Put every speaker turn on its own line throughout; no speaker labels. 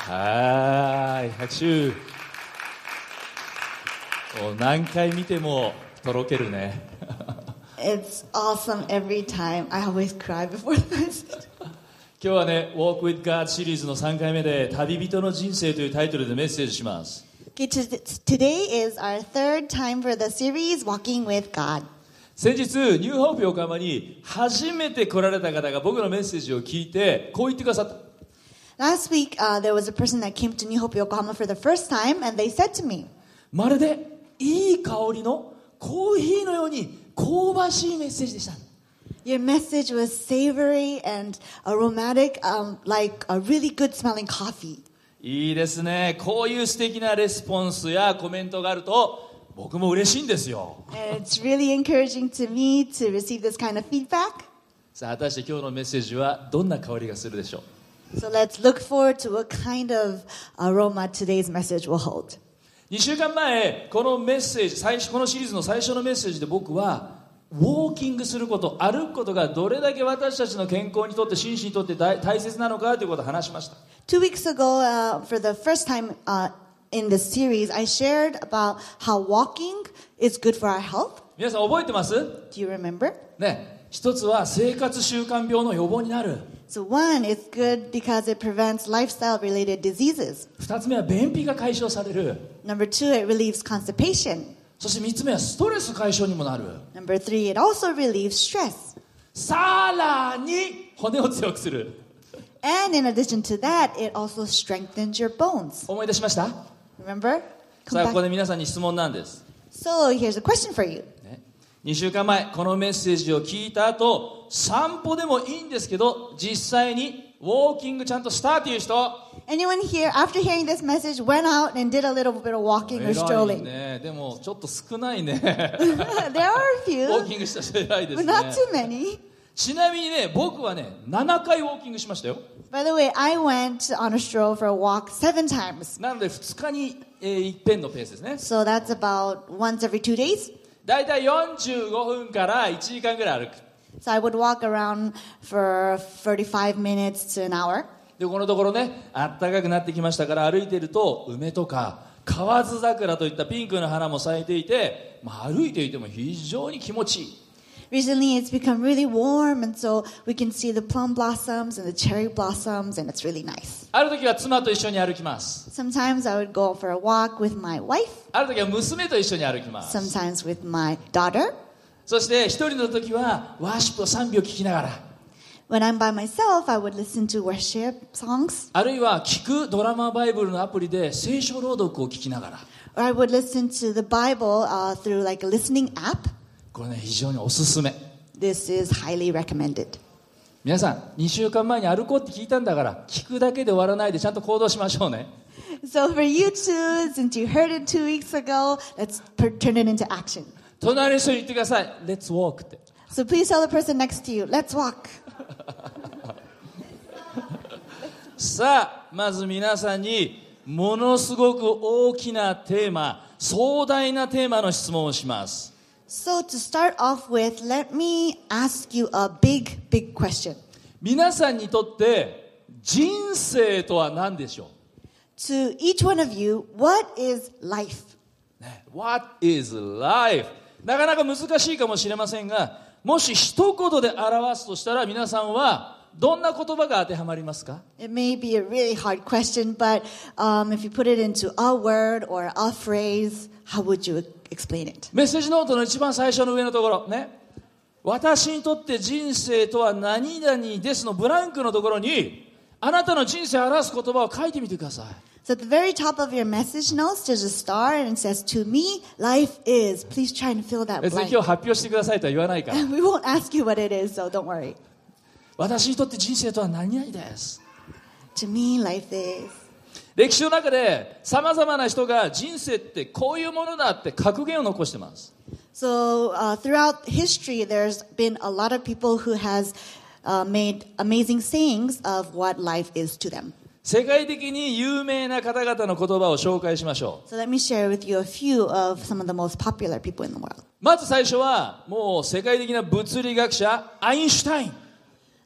はい、拍手。何回見てもとろけるね。
It's awesome every time. I always cry before the message.
今日はね、Walk with God シリーズの3回目で、旅人の人生というタイトルでメッセージします。
Okay, today is our third time for the series, Walking with God.
先日、ニューホープ横浜に初めて来られた方が僕のメッセージを聞いて、こう言ってくださった。
Last week, there was a person that came to New Hope Yokohama for the first time, and they said to me,
まるでいい香りのコーヒーのように香ばしいメッセージでした。
Your message was savory and aromatic, like a really good smelling coffee.
いいですね。こういう素敵なレスポンスやコメントがあると僕も嬉しいんですよ。
And it's really encouraging to me to receive this kind of feedback.
さあ、果たして今日のメッセージはどんな香りがするでしょう。
So let's look forward to what kind of aroma today's message will hold.
2週間前、このメッセージ、このシリーズの最初のメッセージで僕はウォーキングすること、歩くことがどれだけ私たちの健康にとって、心身にとって大切なのかということを話しました。
2 weeks ago, for the first time in this series, I shared about how walking is good for our health.
皆さん覚えてます？
Do you remember?
ね、一つは生活習慣病の予防になる。
So one, it's good because it prevents lifestyle-related diseases.
二つ目は便秘が解消される。
Number two, it relieves constipation.
そして三つ目はストレス解消にもなる。
Number three, it also relieves stress.
さらに骨を強くする。
And in addition to that, it also strengthens your bones.
思い出しました？
Remember?
さあ、ここで皆さんに質問なんです。
So here's a question for you.
2週間前、このメッセージを聞いた後、散歩でもいいんですけど、実際にウォーキングちゃんとしたという人。
Anyone here, after hearing this message, went out and did a little bit of walking or
偉い
strolling?
ね。でもちょっと少ないね。
There are a
ウ
few,
ォーキングした人偉いです
but
ね。
not too many.
ちなみにね、僕はね、7回ウォーキングしましたよ。
By the way, I went on a stroll for a walk 7 times.
なので2日に、一遍のペースですね。
So that's about once every 2 days.
だいたい45分から1時間ぐらい歩く。
So I would walk around for 35 minutes to an hour.
で、このところね、暖かくなってきましたから歩いてると、梅とか河津桜といったピンクの花も咲いていて、歩いていても非常に気持ちいい。
Recently, it's become really warm, and so we can see the plum blossoms and the cherry blossoms, and it's really nice.
ある時は妻と一緒に歩きます。
Sometimes I would go for a walk with my wife,
ある時は娘と一緒に歩きます。
sometimes with my daughter.
そして一人の時はワーシップを賛美を聞きながら、
When I'm by myself, I would listen to worship songs,
あるいは聞くドラマバイブルのアプリで聖書朗読を聞きながら、
or I would listen to the Bible through like a listening app.
これね、非常におすすめ。
This is highly recommended.
皆さん、2週間前に歩こうって聞いたんだから、聞くだけで終わらないでちゃんと行動しましょうね。
So for you too, since you heard it 2 weeks ago, let's turn it into action.
隣の人に言ってください。Let's walk って。
So please tell the person next to you, let's walk.
さあ、まず皆さんにものすごく大きなテーマ、壮大なテーマの質問をします。
So to start off with, let me ask you a big question.
皆さんにとって人生とは何でしょ
To each one of you, what is life?
う、ね、What is life? なかなか難しいかもしれませんが、もし一言で表すとしたら皆さんはどんな言葉が当てはまりますか？
It may be a really hard question, but if you put it into a word or a phrase, how would you explain it?
メッセージノートの一番最初の上のところね、私にとって人生とは何々ですのブランクのところに、あなたの人生を表す言葉を書いてみてください。
So at the very top of your message notes, there's a star and it says, to me, life is. Please try and fill that
別に
blank.
今日発表してくださいとは言わないから。
We won't ask you what it is, so don't worry.
私にとって人生とは何々です。
To me, life is.
歴史の中で様々な人が人生ってこういうものだって格言を残してます。
So throughout history, there's been a lot of people who has made amazing sayings of what life is to them.
世界的に有名な方々の言葉を紹介しましょう。
So let me share with you a few of some of the most popular people in the world.
まず最初はもう世界的な物理学者アインシュタイン。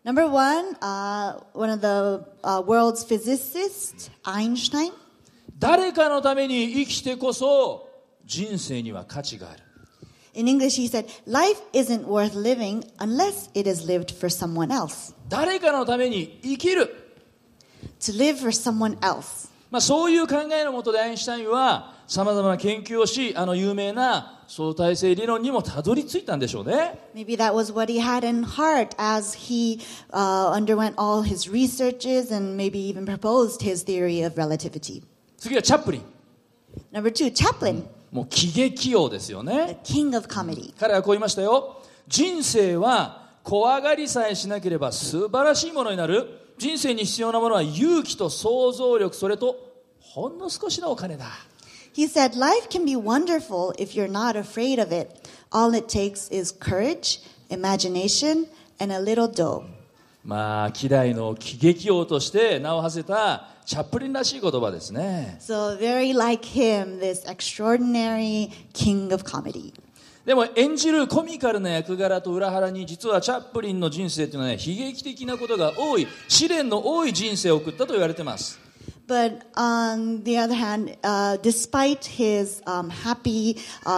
Number one, one of the world's physicists, Einstein.
誰かのために生きてこそ人生には価値がある。
In English, he said, life isn't worth living unless it is lived for someone else.
誰かのために生きる。
To live for someone else.
そういう考えのもとでアインシュタインはさまざまな研究をし、有名な相対性理論にもたどり着いたんでしょうね。
Maybe that was what he had in heart as he underwent all his researches and maybe even proposed his theory of relativity.
次はチャップリン。
Number two, Chaplin,
もう喜劇王ですよね。
the king of comedy.
彼はこう言いましたよ。人生は怖がりさえしなければ素晴らしいものになる。人生に必要なものは勇気と想像力、それとほんの少しのお金だ。
He said, life can be wonderful if you're not afraid of it. All it takes is courage, imagination, and a little dough.
希代の喜劇王として名を馳せたチャップリンらしい言葉ですね。
So very like him, this extraordinary king of comedy.
でも演じるコミカルな役柄と裏腹に、実はチャップリンの人生というのはね、悲劇的なことが多い、試練の多い人生を送ったと言われています。
But on the other hand, despite his happy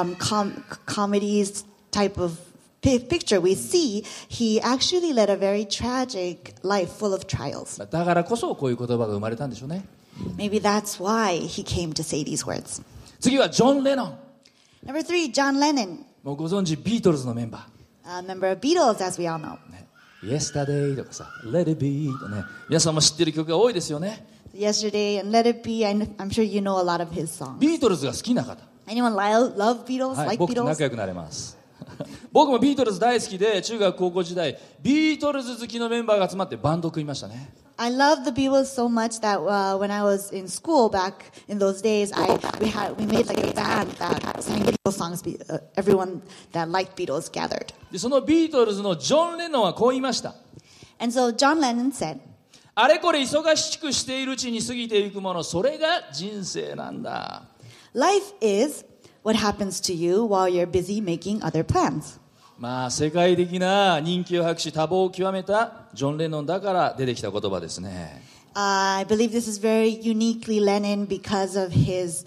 comedies type of picture we see, he actually led a very tragic life full of trials.
だからこそこういう言葉が生まれたんでしょうね。
Maybe that's why he came to say these words.
次はジョン・レノン。
Number three, John Lennon,
もうご存知ビートルズのメンバー。
a member of Beatles, as we all know.
Yesterday とかさ、Let It Be とね、皆さんも知ってる曲が多いですよね。
Yesterday and Let It Be, I'm sure you know a lot of his songs.
ビートルズが好きな方、
Anyone love Beatles,
はい、
like
僕と
Beatles?
仲良くなれます。僕もビートルズ大好きで、中学高校時代ビートルズ好きのメンバーが集まってバンドを組みましたね。
I love the Beatles so much that when I was in school back in those days, we made like a band that sang Beatles songs. Everyone that liked Beatles gathered.
でそのビートルズのジョン・レノンはこう言いました。
And so John Lennon said,
あれこれ忙しくしているうちに過ぎていくもの、それが人生なんだ。
life is what happens to you while you're busy making other plans.
世界的な人気を博し多忙を極めたジョン・レノンだから出てきた言葉ですね。
I believe this is very uniquely Lennon because of his,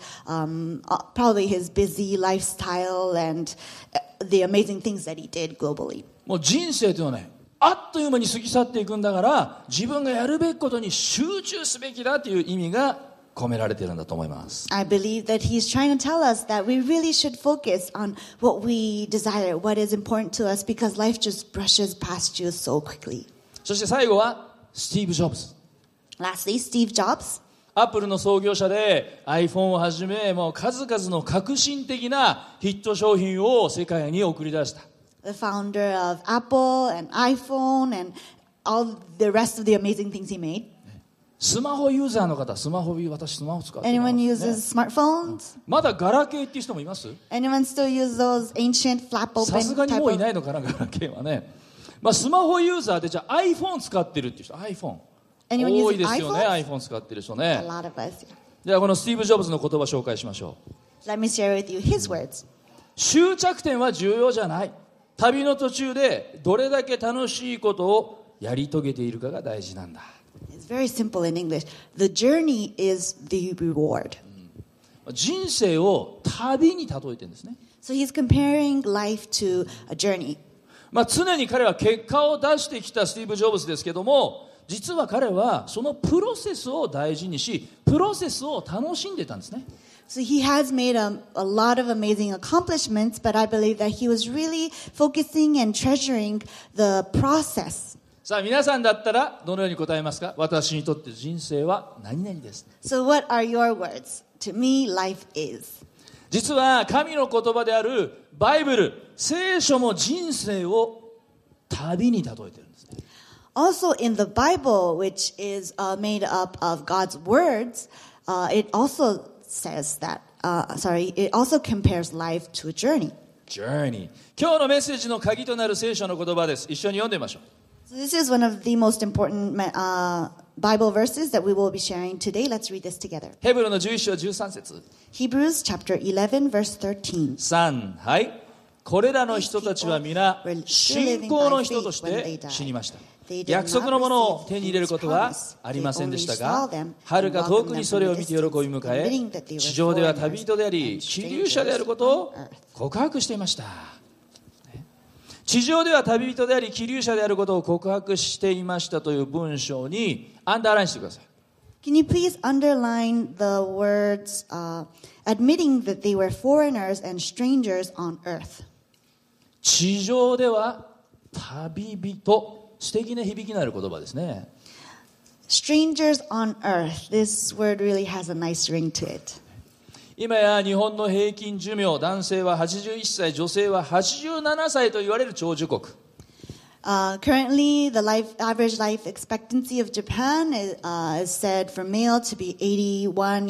probably his busy lifestyle and the amazing things that he did globally.
もう人生というのはね、あっという間に過ぎ去っていくんだから、自分がやるべきことに集中すべきだという意味が込められているんだと思います。
I believe that he's trying to tell us that we really should focus on what we desire, what is important to us, because life just brushes past you so quickly.
そして最後はスティーブ・ジョブズ。
Lastly, Steve Jobs.
アップルの創業者で iPhone をはじめ、もう数々の革新的なヒット商品を世界に送り出した。
The founder of Apple and iPhone and all the rest of the amazing things he made.
スマホユーザーの方、私スマホ使ってます、
Anyone
ね、
uses smartphones?
まだガラケーっていう人もいます？
Anyone still use those ancient flap
さす
open
がに
type
もうい
of?
ないのかな、ガラケーはね。スマホユーザーでじゃあ iPhone 使ってるっていう人、iPhone
Anyone
多
using
いですよね。
iPhones?
iPhone 使ってる人
A
ね。
lot of us.
ではこのスティーブ・ジョブズの言葉を紹介しましょう。
Let me share with you his words.
終着点は重要じゃない。旅の途中でどれだけ楽しいことをやり遂げているかが大事なんだ。
It's very simple in English. The journey is the reward.
人生を旅に例えてるんですね。
So he's comparing life to a journey.
常に彼は結果を出してきたスティーブ・ジョブズですけども、実は彼はそのプロセスを大事にし、プロセスを楽しんでたんですね。
So he has made a lot of amazing accomplishments, but I believe that he was really focusing and treasuring the process.
さあ皆さんだったらどのように答えますか？私にとって人生は何々です。
So what are your words? To me, life is.
実は神の言葉であるバイブル、聖書も人生を旅に例えてるんですね。
Also in the Bible, which is made up of God's words, it also says that, it also compares life to a journey.
Journey。今日のメッセージの鍵となる聖書の言葉です。一緒に読んでみましょう。
So this is one of the most important Bible verses that we will be sharing today. Let's read this together.
ヘブルの11章13節。
Hebrews chapter 11 verse 13.
3、はい。これらの人たちは皆信仰の人として死にました。
They did
約
not
束のものを
receive
手に入れる
these
ことは
promises.
あり
They
ませんで
only
した
saw
が、
them
はる
and
か遠
welcomed
くに
them
それ
from
を
a
見て喜び
distance,
迎え、
admitting that they were
地上では
foreigners
旅人であり、
and
寄留者である
strangers
ことを
on earth.
告白していました。地上では旅人であり、寄留者であることを告白していましたという文章にアンダーラインしてください。
Can you please underline the words admitting that they were foreigners and strangers on earth?
地上では旅人、素敵な響きのある言葉ですね。
Strangers on earth. This word really has a nice ring to it.
今や日本の平均寿命、男性は81歳、女性は87歳と言われる長寿国。
Currently, the average life expectancy of Japan is said for male to be 81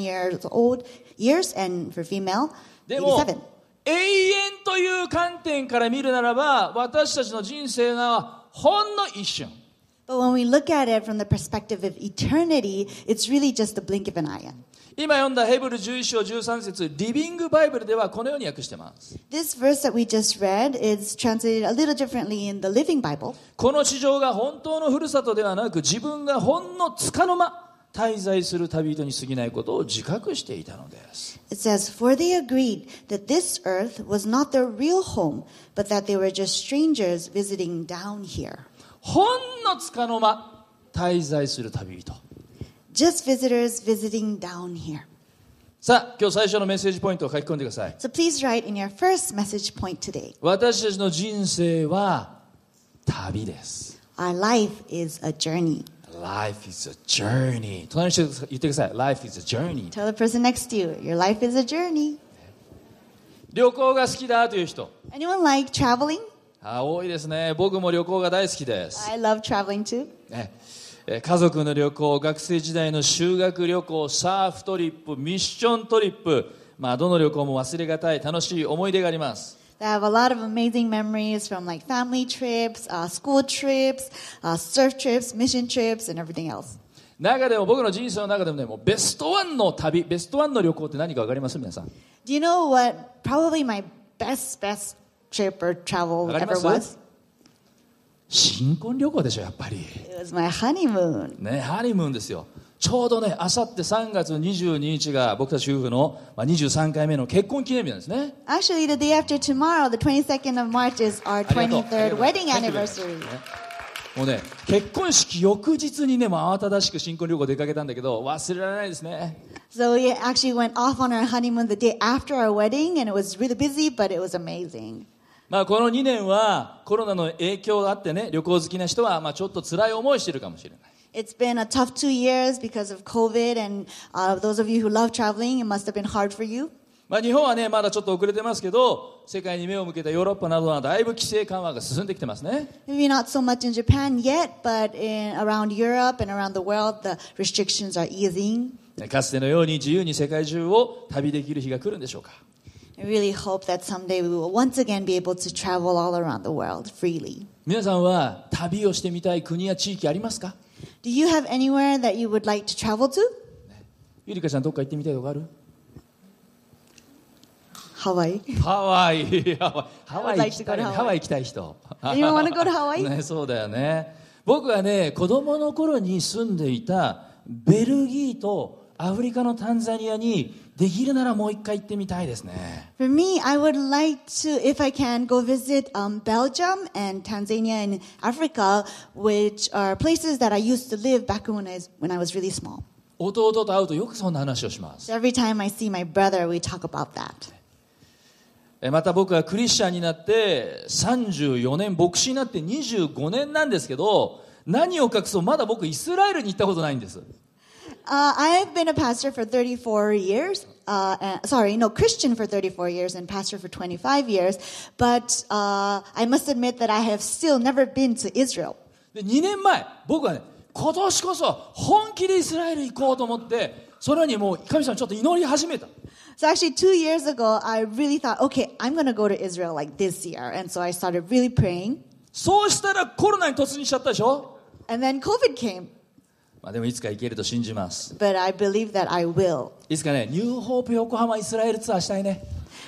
years and for female,
でも
87.
永遠という観点から見るならば、私たちの人生はほんの一瞬。
But when we look at it from the perspective of eternity, it's really just a blink of an eye.
今読んだヘブル11章13節、リビングバイブルではこのように訳しています。
This verse that we just read is translated a little differently in the Living Bible.
この地上が本当のふるさとではなく、自分がほんの束の間滞在する旅人に過ぎないことを自覚していたのです。
It says, "For they agreed that this earth was not their real home, but that they were just strangers visiting down here."
ほんの束の間滞在する旅人。
Just visitors visiting down here.
さあ、今日最初のメッセージポイントを書き込んでください。
So please write in your first message point today.
私たちの人生は旅です。
Our life is a journey.
Life is a journey. 隣の人言ってください。Life is a journey.
Tell the person next to you, your life is a journey.
旅行が好きだという人。
Anyone like traveling?
多いですね。僕も旅行が大好きです。
I love traveling too.
ね、家族の旅行、学生時代の修学旅行、サーフトリップ、ミッショントリップ、どの旅行も忘れがたい楽しい思い出があります。
I have a lot of amazing memories from like family trips, school trips, surf trips, mission trips, and everything else.
中でも僕の人生の中でもね、もうベストワンの旅、ベストワンの旅行って何か分かります皆さん。
Do you know what probably my best trip or travel
わかり
ever
ます
was?
新婚旅行でしょ、やっぱり。
It was my honeymoon.
ね、ハニムーンですよ。ちょうどね、あさって3月22日が僕たち夫婦の23回目の結婚記念日なんですね。
Actually, the day after tomorrow, the 22nd of March, is our
ありがとう
23rd wedding
ありがとう
anniversary.
もうね、結婚式翌日にね、もう慌ただしく新婚旅行出かけたんだけど、忘れられないですね。
So we actually went off on our honeymoon the day after our wedding, and it was really busy, but it was amazing.
この2年はコロナの影響があってね、旅行好きな人はちょっと辛い思いしてるかもしれない。
It's been a tough 2 years because of COVID, and those of you who love traveling, it must have been hard for you.
日本はね、まだちょっと遅れてますけど、世界に目を向けたヨーロッパなどはだいぶ規制緩和が進んできてますね。
Maybe not so much in Japan yet, but around Europe and around the world, the restrictions are easing.
かつてのように自由に世界中を旅できる日が来るんでしょうか。
I really hope that someday we will once again be able to travel all around the world freely.
皆さんは旅をしてみたい国や地域ありますか？
Do you have anywhere that you would like to travel to?
ゆりかちゃんどっか行ってみたいとこある？
Hawaii.
ハワイ。ハワイ
I would
行
like
き
to
た
go
い。
to Hawaii.
ハワイ行きたい人。
Anyone want to go to Hawaii?
ね、そうだよね。僕はね、子供の頃に住んでいたベルギーとアフリカのタンザニアにできるならもう一回行ってみたいですね。
For me, I would like to, if I can, go visit Belgium and Tanzania in Africa, which are places that I used to live back when I was really small.
弟と会うとよくそんな話をします。
So every time I see my brother, we talk about that.
また僕はクリスチャンになって34年、牧師になって25年なんですけど、何を隠そうまだ僕イスラエルに行ったことないんです。
I've been a pastor for 34 years. Christian for 34 years and pastor for 25 years. But I must admit that I have still never been to Israel.
で2年前、僕はね、今年こそ本気でイスラエル行こうと思って、それにもう神様ちょっと祈り始めた。
So actually 2 years ago, I really thought, okay, I'm going to go to Israel like this year. And so I started really praying.
そうしたらコロナに突入しちゃったでしょ。
And then COVID came.
でもいつか行けると信じます。
But I believe that I will.
いつかね、ニューホープ横浜イスラエルツアーしたいね。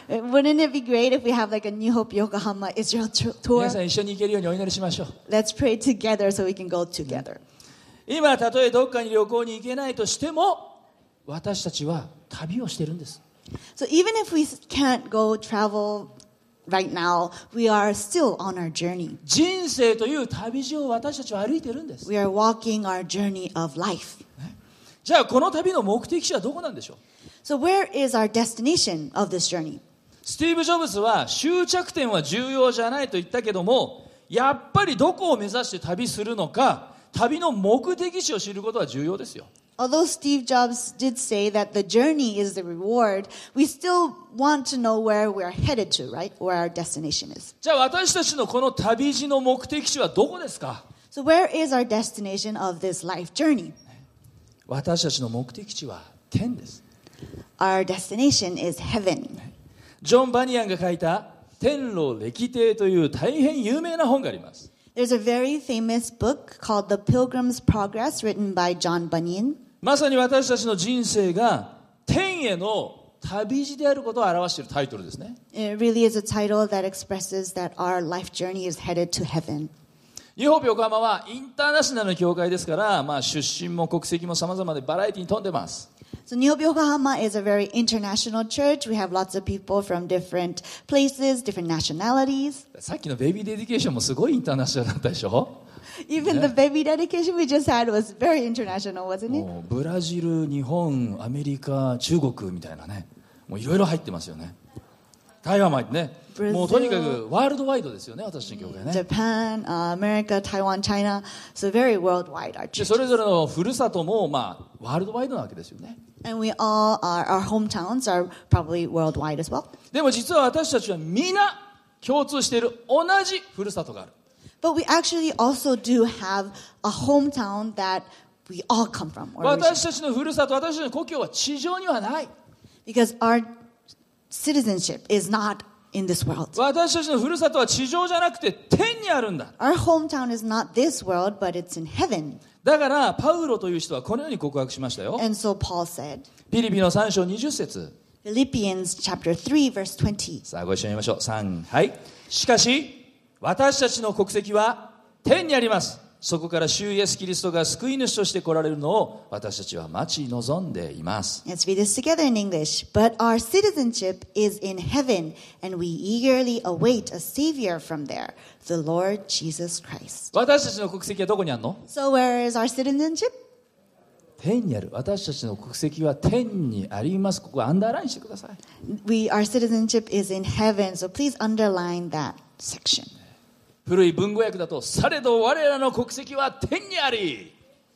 Wouldn't it be great if we have like a New Hope Yokohama Israel tour?
皆さん一緒に行けるようにお祈りしましょう。
Let's pray together so we can go together.
今たとえどっかに旅行に行けないとしても、私たちは旅をしてるんです。
So even if we can't go travel right now, we are still on our journey.
人生という旅路を私たちは歩いてるんです。
We are walking our journey of life.
じゃあこの旅の目的地はどこなんでしょう。
So where is our destination of this journey?
スティーブ・ジョブズは終着点は重要じゃないと言ったけども、やっぱりどこを目指して旅するのか、旅の目的地を知ることは重要ですよ。
Although Steve Jobs did say that the journey is the reward, we still want to know where we're headed to, right? Where our destination is.
じゃあ私たちのこの旅路の目的地はどこですか。
So where is our destination of this life journey?
私たちの目的地は天です。
Our destination is heaven.
ジョン・バニアンが書いた天路歴帝という大変有名な本があります。
There's a very famous book called The Pilgrim's Progress written by John Bunyan.
まさに私たちの人生が天への旅路であることを表しているタイトルですね。
It really is a title that expresses that our life journey is headed to heaven.
ニューホープ横浜はインターナショナルの教会ですから、出身も国籍も様々でバラエティに富んでます。
So New Hope Yokohama is a very international church. We have lots of people from different places, different nationalities.
さっきのベイビーデディケーションもすごいインターナショナルだったでしょ。
Even the baby dedication we just had was very international, wasn't it?
もうブラジル、日本、アメリカ、中国みたいなね、もういろいろ入ってますよね。台湾も入ってね、もうとにかくワールドワイドですよね、私の教会ね。
Japan, America, Taiwan, China. So very worldwide, our
で
church.
それぞれのふるさとも、ワールドワイドなわけですよね。
And we all are, our hometowns are probably worldwide as well.
でも実は私たちは皆共通している同じふるさとがある。
But we actually also do have a hometown that we all come from.
私たちのふるさと、私たちの故郷は地上にはない。
Because our citizenship is not in this world.
私たちのふるさとは地上じゃなくて天にあるんだ。
Our hometown is not this world, but it's in heaven.
だからパウロという人はこのように告白しましたよ。
And so Paul said,
ピリピの3章20節。
Philippians chapter 3, verse 20.
さあご一緒に言いましょう。3、はい。しかし私たちの国籍は天にあります。そこから主イエスキリストが救い主として来られるのを私たちは待ち望んでいます。
Let's read this together in English. But our citizenship is in heaven, and we eagerly await a Savior from there, the Lord Jesus Christ.
私たちの国籍はどこにあるの？
So where is our citizenship?
天にある。私たちの国籍は天にあります。ここアンダーラインしてください。
Our citizenship is in heaven, so please underline that section.
古い文語訳だと、されど我らの国籍は天にあり。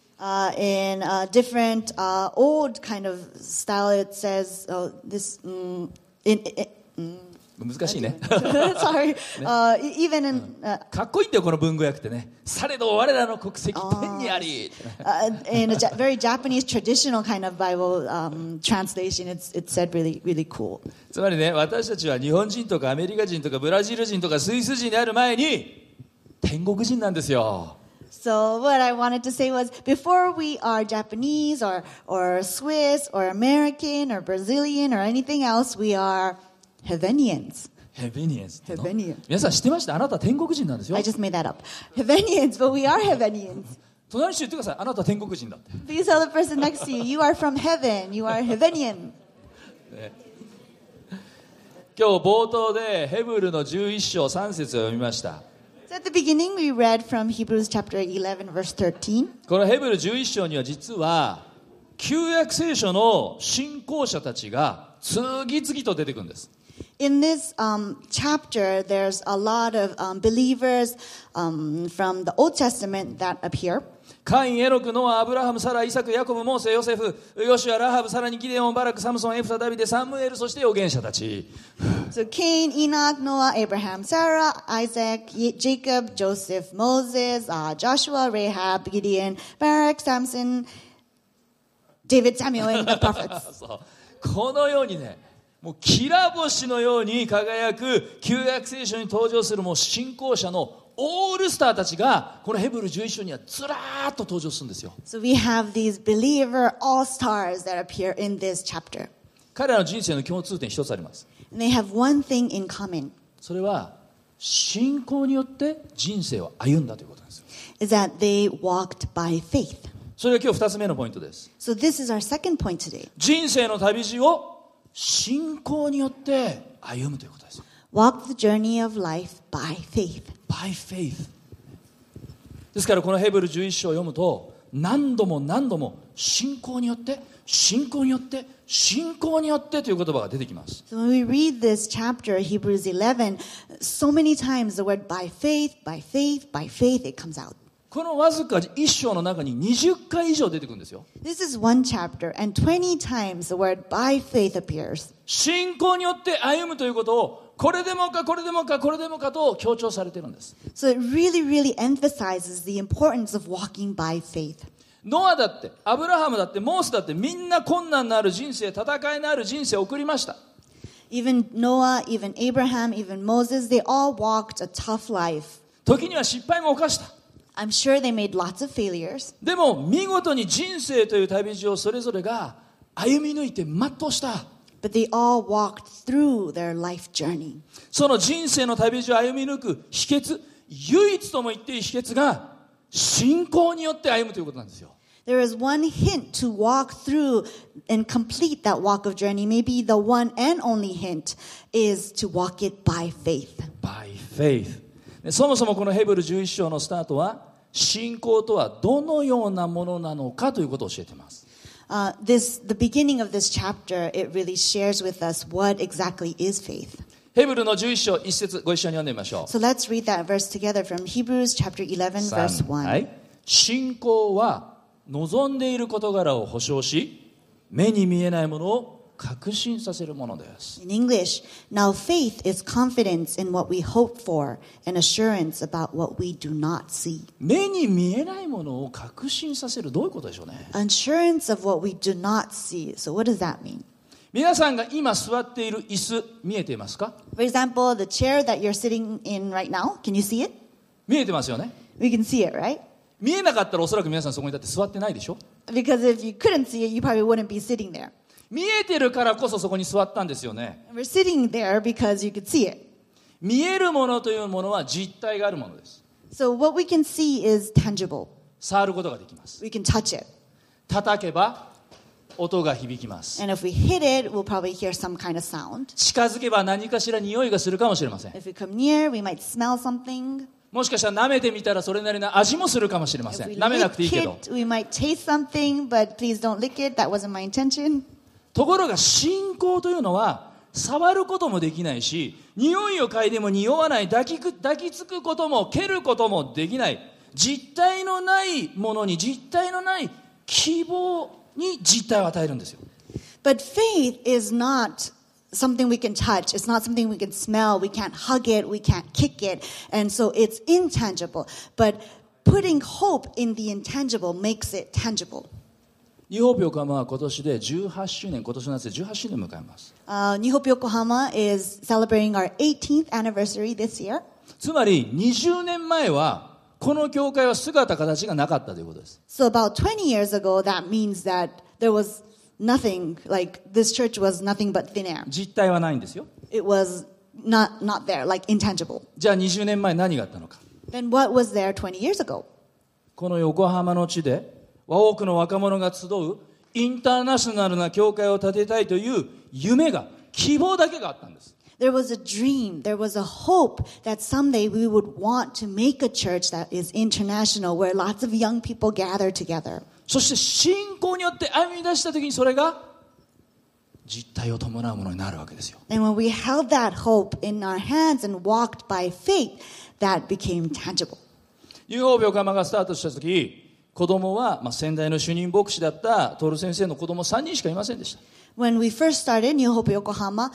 In a different old kind of style, it says,
難しいね。
sorry, even in,
かっこいいんだよ、この文語訳ってね。されど我らの国籍天にあり。
in a very Japanese traditional kind of Bible translation, it's said really, really cool.
つまりね、私たちは日本人とかアメリカ人とかブラジル人とかスイス人である前に天国人なんですよ。
So what I wanted to say was, before we are Japanese or Swiss or American or Brazilian or anything else, we are Heavenians.
ヘベニエンスっての
Heavenians.
皆さん知ってました？あなた天国人なんですよ。
I just made that up. Heavenians, but we are Heavenians.
隣の人言ってください。あなた天国人だって。
Please tell the person next to you, you are from heaven. You are Heavenian.
今日冒頭でヘブルの11章3節を読みました。
So at the beginning, we read from Hebrews chapter 11, verse 13.
このヘブル11章には実は旧約聖書の信仰者たちが次々と出てくるんです。
In this chapter, there's a lot of believers from the Old Testament that appear.
カイン、エノク、ノア、アブラハム、サラ、イサク、ヤコブ、モーセ、ヨセフ、ヨシュア、ラハブ、さらにギデオン、バラク、サムソン、エフタ、ダビデ、サムエル、そして預言者たち。
So Cain, Enoch, Noah, Abraham, Sarah, Isaac, Jacob, Joseph, Moses, Joshua, Rahab, Gideon, Barak, Samson, David, Samuel, and the prophets.
そうこのようにね、もうきら星のように輝く旧約聖書に登場するもう信仰者のオールスターたちがこのヘブル11章にはずらーっと登場するんですよ。
So we have these believer all-stars that appear in this chapter.
彼らの人生の共通点一つあります。
And they have one thing in common,
それは信仰によって人生を歩んだということなんですよ。
is that they walked by faith.
それが今日2つ目のポイントです。
So this is our second point today.
人生の旅路を信仰によって歩むということです。
Walk the journey of life by faith.
By faith。ですからこのヘブル11章を読むと何度も何度も信仰によって信仰によって信仰によってという言葉が出てきます。
So when we read this chapter, Hebrews 11, so many times the word by faith, by faith, by faith, it comes out.
このわずか1章の中に20回以上出てくるんですよ。
This is one chapter, and 20 times the word by faith appears.
信仰によって歩むということをこれでもかこれでもかこれでもかと強調されているんです。
So it really, really emphasizes the importance of walking by faith.
ノアだってアブラハムだってモーセだってみんな困難のある人生、戦いのある人生を送りました。
Even Noah, even Abraham, even Moses, they all walked a tough life.
時には失敗も犯した。
I'm sure they made lots of failures,
でも見事に人生という旅路をそれぞれが歩み抜いて全うした。
but they all walked through their life journey.
その人生の旅路を歩み抜く秘訣、唯一とも言っていい秘訣が信仰によって歩むということなんですよ。
There is one hint to walk through and complete that walk of journey. Maybe the one and only hint is to walk it by faith.
By faith。そもそもこのヘブル11章のスタートは信仰とはどのようなものなのかということを教えています。
The beginning of this chapter, it really shares with us what exactly is faith.
ヘブルの11章1節ご一緒に読んでみましょう。
So let's read that verse together from Hebrews chapter 11, verse 1.
はい、信仰は望んでいる事柄を保証し、目に見えないものを確信させるものです。
In English, now faith is confidence in what we hope for and assurance about what we do not see.
目に見えないものを確信させる、どういうことでしょうね。
Assurance of what we do not see. So what does that mean?
皆さんが今座っている椅子見えていますか？
For example, the chair that you're sitting in right now, can you see it?
見えてますよね。
We can see it, right?
見えなかったらおそらく皆さんそこにだって座ってないでしょ。
Because if you couldn't see it, you probably wouldn't be sitting there.
見えてるからこそそこに座ったんですよね。
And we're sitting there because you could see it.
見えるものというものは実体があるものです。
So what we can see is tangible.
触ることができます。
We can touch it.
叩けば音が響きます。
And if we hit it, we'll probably hear some kind of sound.
近づけば何かしら匂いがするかもしれません。
If we come near, we might smell something.
もしかしたら舐めてみたらそれなりの味もするかもしれませ
If
ん。
we
舐めなくていい
lick
けど。
it, we might taste something, but please don't lick it. That wasn't my intention.
ところが信仰というのは触ることもできないし、匂いを嗅いでも匂わない、抱きつくことも蹴ることもできない、実体のないものに実体のない希望に実体を与えるんですよ。
But faith is not something we can touch. It's not something we can smell. We can't hug it. We can't kick it. And so it's intangible. But putting hope in the intangible makes it tangible.
ニューホープ横浜は今年で18周年、今年の夏で18周年を迎えます。
New Hope Yokohama is celebrating our 18th anniversary this year.
つまり20年前はこの教会は姿形がなかったということです。
So about 20 years ago, that means that there was nothing, like this church was nothing but thin air.
実体はないんですよ。
It was not there, like intangible.
じゃあ20年前何があったのか。
Then what was there 20 years ago?
この横浜の地で多くの若者が集うインターナショナルな教会を建てたいという夢が、希望だけがあったんです。
There was a dream, there was a hope that someday we would want to make a church that is international, where lots of young people gather together.
そして信仰によって歩み出した時にそれが実体を伴うものになるわけですよ。
And when we held that hope in our hands and walked by faith, that became tangible.
ニューホープ横浜がスタートした時、子供は、先代の主任牧師だったトール先生の子供3人しかいませんでした。
When we first started New Hope Yokohama,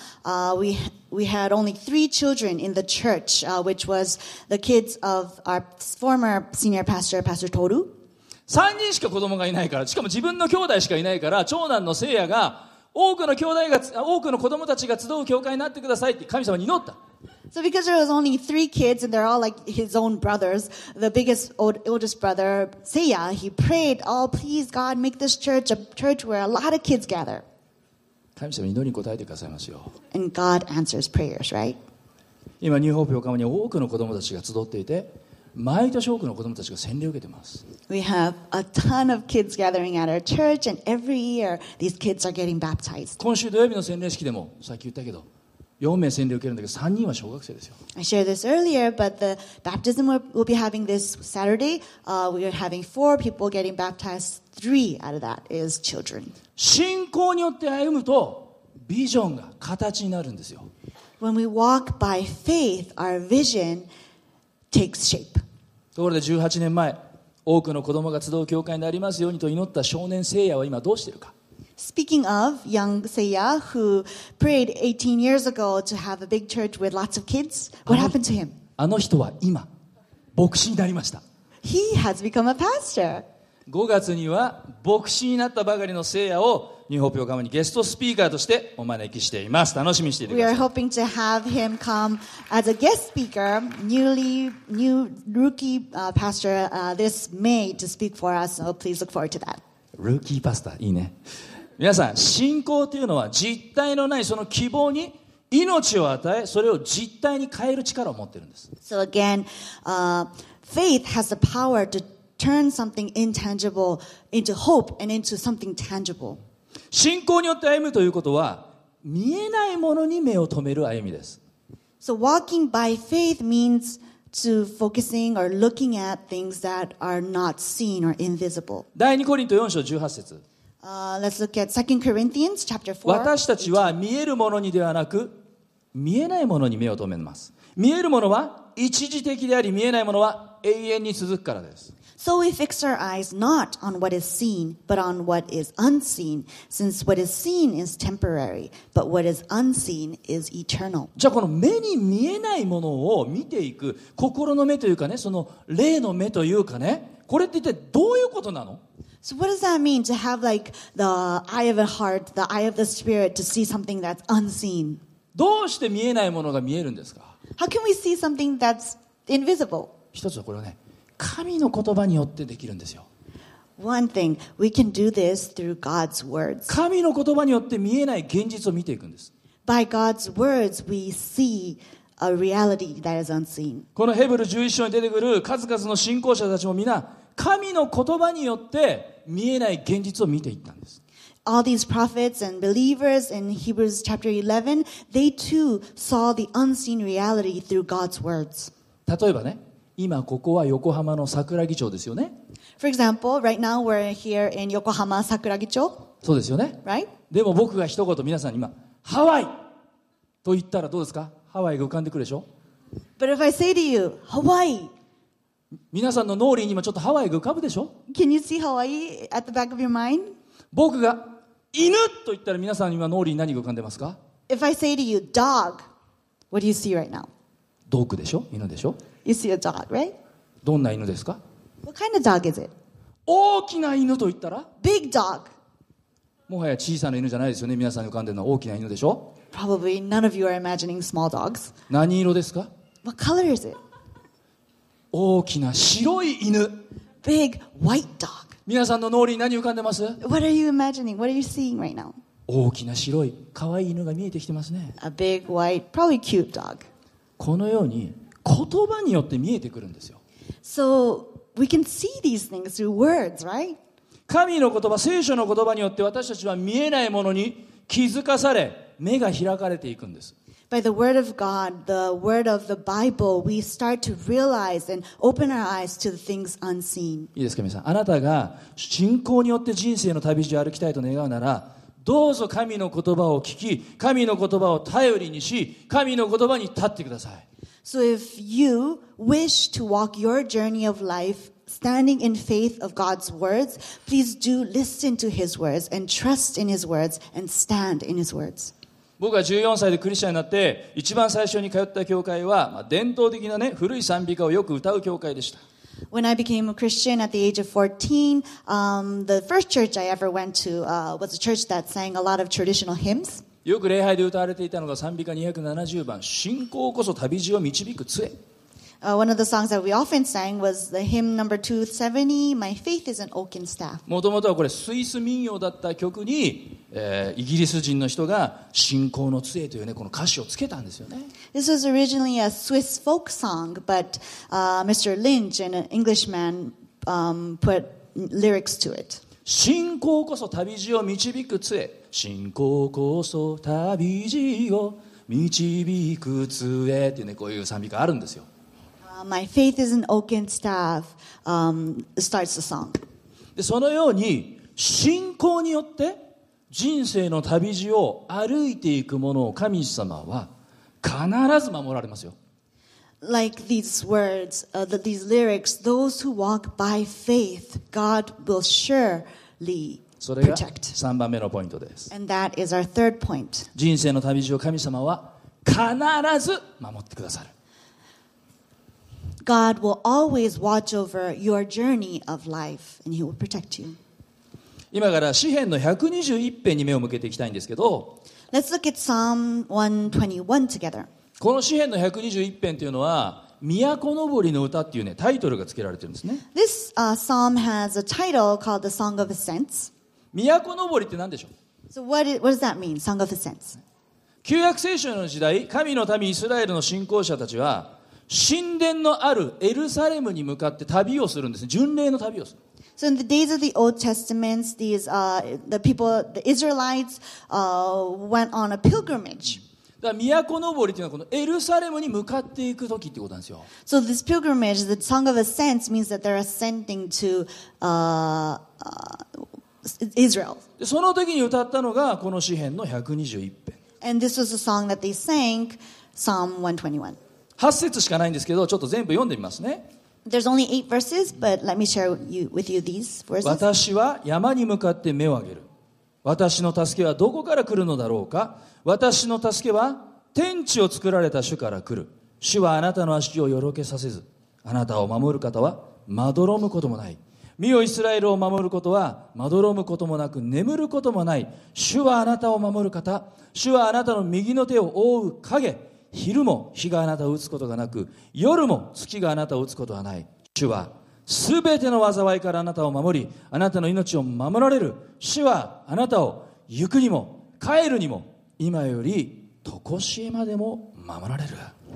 we had only 3 children in the church, which was the kids of our former senior pastor, Pastor Toru.
3人しか子供がいないから、しかも自分の兄弟しかいないから、長男の聖也が多くの子供たちが集う教会になってくださいって神様に祈った。
So because there was only 3 kids and they're all like his own brothers, the oldest brother, Seiya, he prayed, oh, please God, make this church a church where a lot of kids gather.
神様に祈りに応えてくださいますよ。
And God answers prayers, right?
今ニューホープ横浜に多くの子どもたちが集っていて、毎年多くの子どもたちが洗礼を受けています。
We have a ton of kids gathering at our church, and every year these kids are getting baptized.
今週土曜日の洗礼式でもさっき言ったけど、4名洗礼を受けるんだけど3人は小学生ですよ。
I shared this earlier, but the baptism we'll be having this Saturday, we are having 4 people getting baptized. 3 out of that is children.
信仰によって歩むとビジョンが形になるんですよ。
When we walk by faith, our vision takes shape.
ところで18年前、多くの子供が集う教会になりますようにと祈った少年聖夜は今どうしているか。
Speaking of young Seiya, who prayed 18 years ago to have a big church with lots of kids, what happened to him?
あの人は今牧師になりました。
He has become a pastor.
5月には牧師になったばかりの聖夜をニューホープ横浜にゲストスピーカーとしてお招きしています。楽しみにしていてく
We
だ
are
さい。
hoping to have him come as a guest speaker, new rookie pastor this May to speak for us. So please look forward to that.
ルーキーパスタいいね。皆さん、信仰というのは実体のないその希望に命を与え、それを実体に変える力を持っているんです。
So again, faith has the power to turn something intangible into hope and into something tangible.
信仰によって歩むということは見えないものに目を留める歩みです。
So walking by faith means to focusing or looking at things that are not seen or invisible.
第2コリント4章18節。
Let's look at 2 Corinthians chapter 4.
私たちは見えるものにではなく見えないものに目を留めます。見えるものは一時的であり、見えないものは永遠に続くからです。
So we fix our eyes not on what is seen, but on what is unseen, since what is seen is temporary, but what is unseen is eternal.
じゃあこの目に見えないものを見ていく心の目というかね、その霊の目というかね、これって一体どういうことなの？
So what does that mean to have like the eye of the heart, the eye of the spirit to see something that's unseen?
どうして見えないものが見えるんですか？
How can we see something that's invisible?
一つはこれはね、神の言葉によってできるんですよ。
One thing, we can do this through God's words.
神の言葉によって見えない現実を見ていくんです。
By God's words, we see a reality that is unseen.
このヘブル11章に出てくる数々の信仰者たちも皆神の言葉によって見えない現実を見ていったんです。
All these prophets and believers in Hebrews chapter 11, they too saw the unseen reality through God's words.
例えばね、今ここは横浜の桜木町ですよね。
For example, right now we're here in Yokohama Sakuragicho,
そうですよね。
right?
でも僕が一言皆さんに今ハワイと言ったらどうですか？ハワイが浮かんでくるでしょ？
But if I say to you, Hawaii,
皆さんの脳裏に今ちょっとハワイが浮かぶでしょ？
can you see Hawaii at the back of your mind?
僕が犬と言ったら皆さん今脳裏に何が浮かんでますか？
If I say to you, dog, what do you see right now?
ドッグでしょ？犬でしょ？
You see a dog, right?
どんな犬ですか？
What kind of dog is it?
大きな犬と言ったら
Big dog.
もはや小さな犬じゃないですよね。皆さんに浮かんでるのは大きな犬でしょ？
Probably none of you are imagining small dogs.
何色ですか？
What color is it?
大きな白い犬。
Big white dog.
皆さんの脳裏に何浮かんでます？
What are you imagining? What are you seeing right now?
大きな白い可愛い犬が見えてきてますね。
A big white, probably cute dog.
このように言葉によって見えてくるんですよ。
So we can see these things through words, right?
神の言葉、聖書の言葉によって私たちは見えないものに気づかされ、目が開かれていくんです。
By the word of God, the word of the Bible, we start to realize and open our eyes to the things unseen.
いいですか皆さん。あなたが信仰によって人生の旅路を歩きたいと願うなら、どうぞ神の言葉を聞き、神の言葉を頼りにし、神の言葉に立ってください。
So if you wish to walk your journey of life standing in faith of God's words, please do listen to His words and trust in His words and stand in His words.
僕が14歳でクリスチャンになって一番最初に通った教会は、伝統的なね、古い賛美歌をよく歌う教会でした。
When I became a Christian at the age of 14, the first church I ever went to was a church that sang a lot of traditional hymns.
よく礼拝で歌われていたのが賛美歌270番、信仰こそ旅路を導く杖。
One of the songs that we often sang was the hymn number 270, My Faith is an Oaken Staff.
もともとはこれスイス民謡だった曲に、イギリス人の人が信仰の杖というねこの歌詞をつけたんですよね。
This was originally a Swiss folk song, but Mr. Lynch, an Englishman, put lyrics to it.
信仰こそ旅路を導く杖、信仰こそ旅路を導く杖っていうねこういう賛美歌あるんですよ。
My faith is an oaken staff starts the song.
でそのように信仰によって人生の旅路を歩いていくものを神様は必ず守られますよ。
Like these words, these lyrics, those who walk by faith, God will surely
それが
protect.
3番目のポイントです。
And that is our third point.
人生の旅路を神様は必ず守ってくださる。
God will always watch over your journey of life, and He will protect you.
今から詩編の121編に目を向けていきたいんですけど、
Let's look at Psalm 121 together.
この詩編の121編というのは都のぼりの歌っていうねタイトルが付けられてるんですね。
This psalm has a title called the Song of Ascents.
都のぼりって何でしょう。
So what does that mean, Song of Ascents?
旧約聖書の時代、神の民イスラエルの信仰者たちは神殿のあるエルサレムに向かって旅をするんですね。巡礼の旅をする。
So in the days of the Old Testament, the people, the Israelites, went on a pilgrimage.
だから都のぼりというのはこのエルサレムに向かっていく時ってことなんですよ。
So this pilgrimage, the Song of Ascents, means that they're ascending to Israel.
でその時に歌ったのがこの詩編の121編。
And this was a song that they sang, Psalm 121.
8節しかないんですけど、ちょっと全部読んでみますね。
There's only 8 verses, but let me share with you these verses.
私は山に向かって目を上げる。私の助けはどこから来るのだろうか。私の助けは天地を作られた主から来る。主はあなたの足をよろけさせず、あなたを守る方はまどろむこともない。見よイスラエルを守ることはまどろむこともなく眠ることもない。主はあなたを守る方。主はあなたの右の手を覆う影。昼も日があなたを打つことがなく、夜も月があなたを打つことはない。主はすべての災いからあなたを守り、あなたの命を守られる。主はあなたを行くにも帰るにも今より常しえまでも守られる。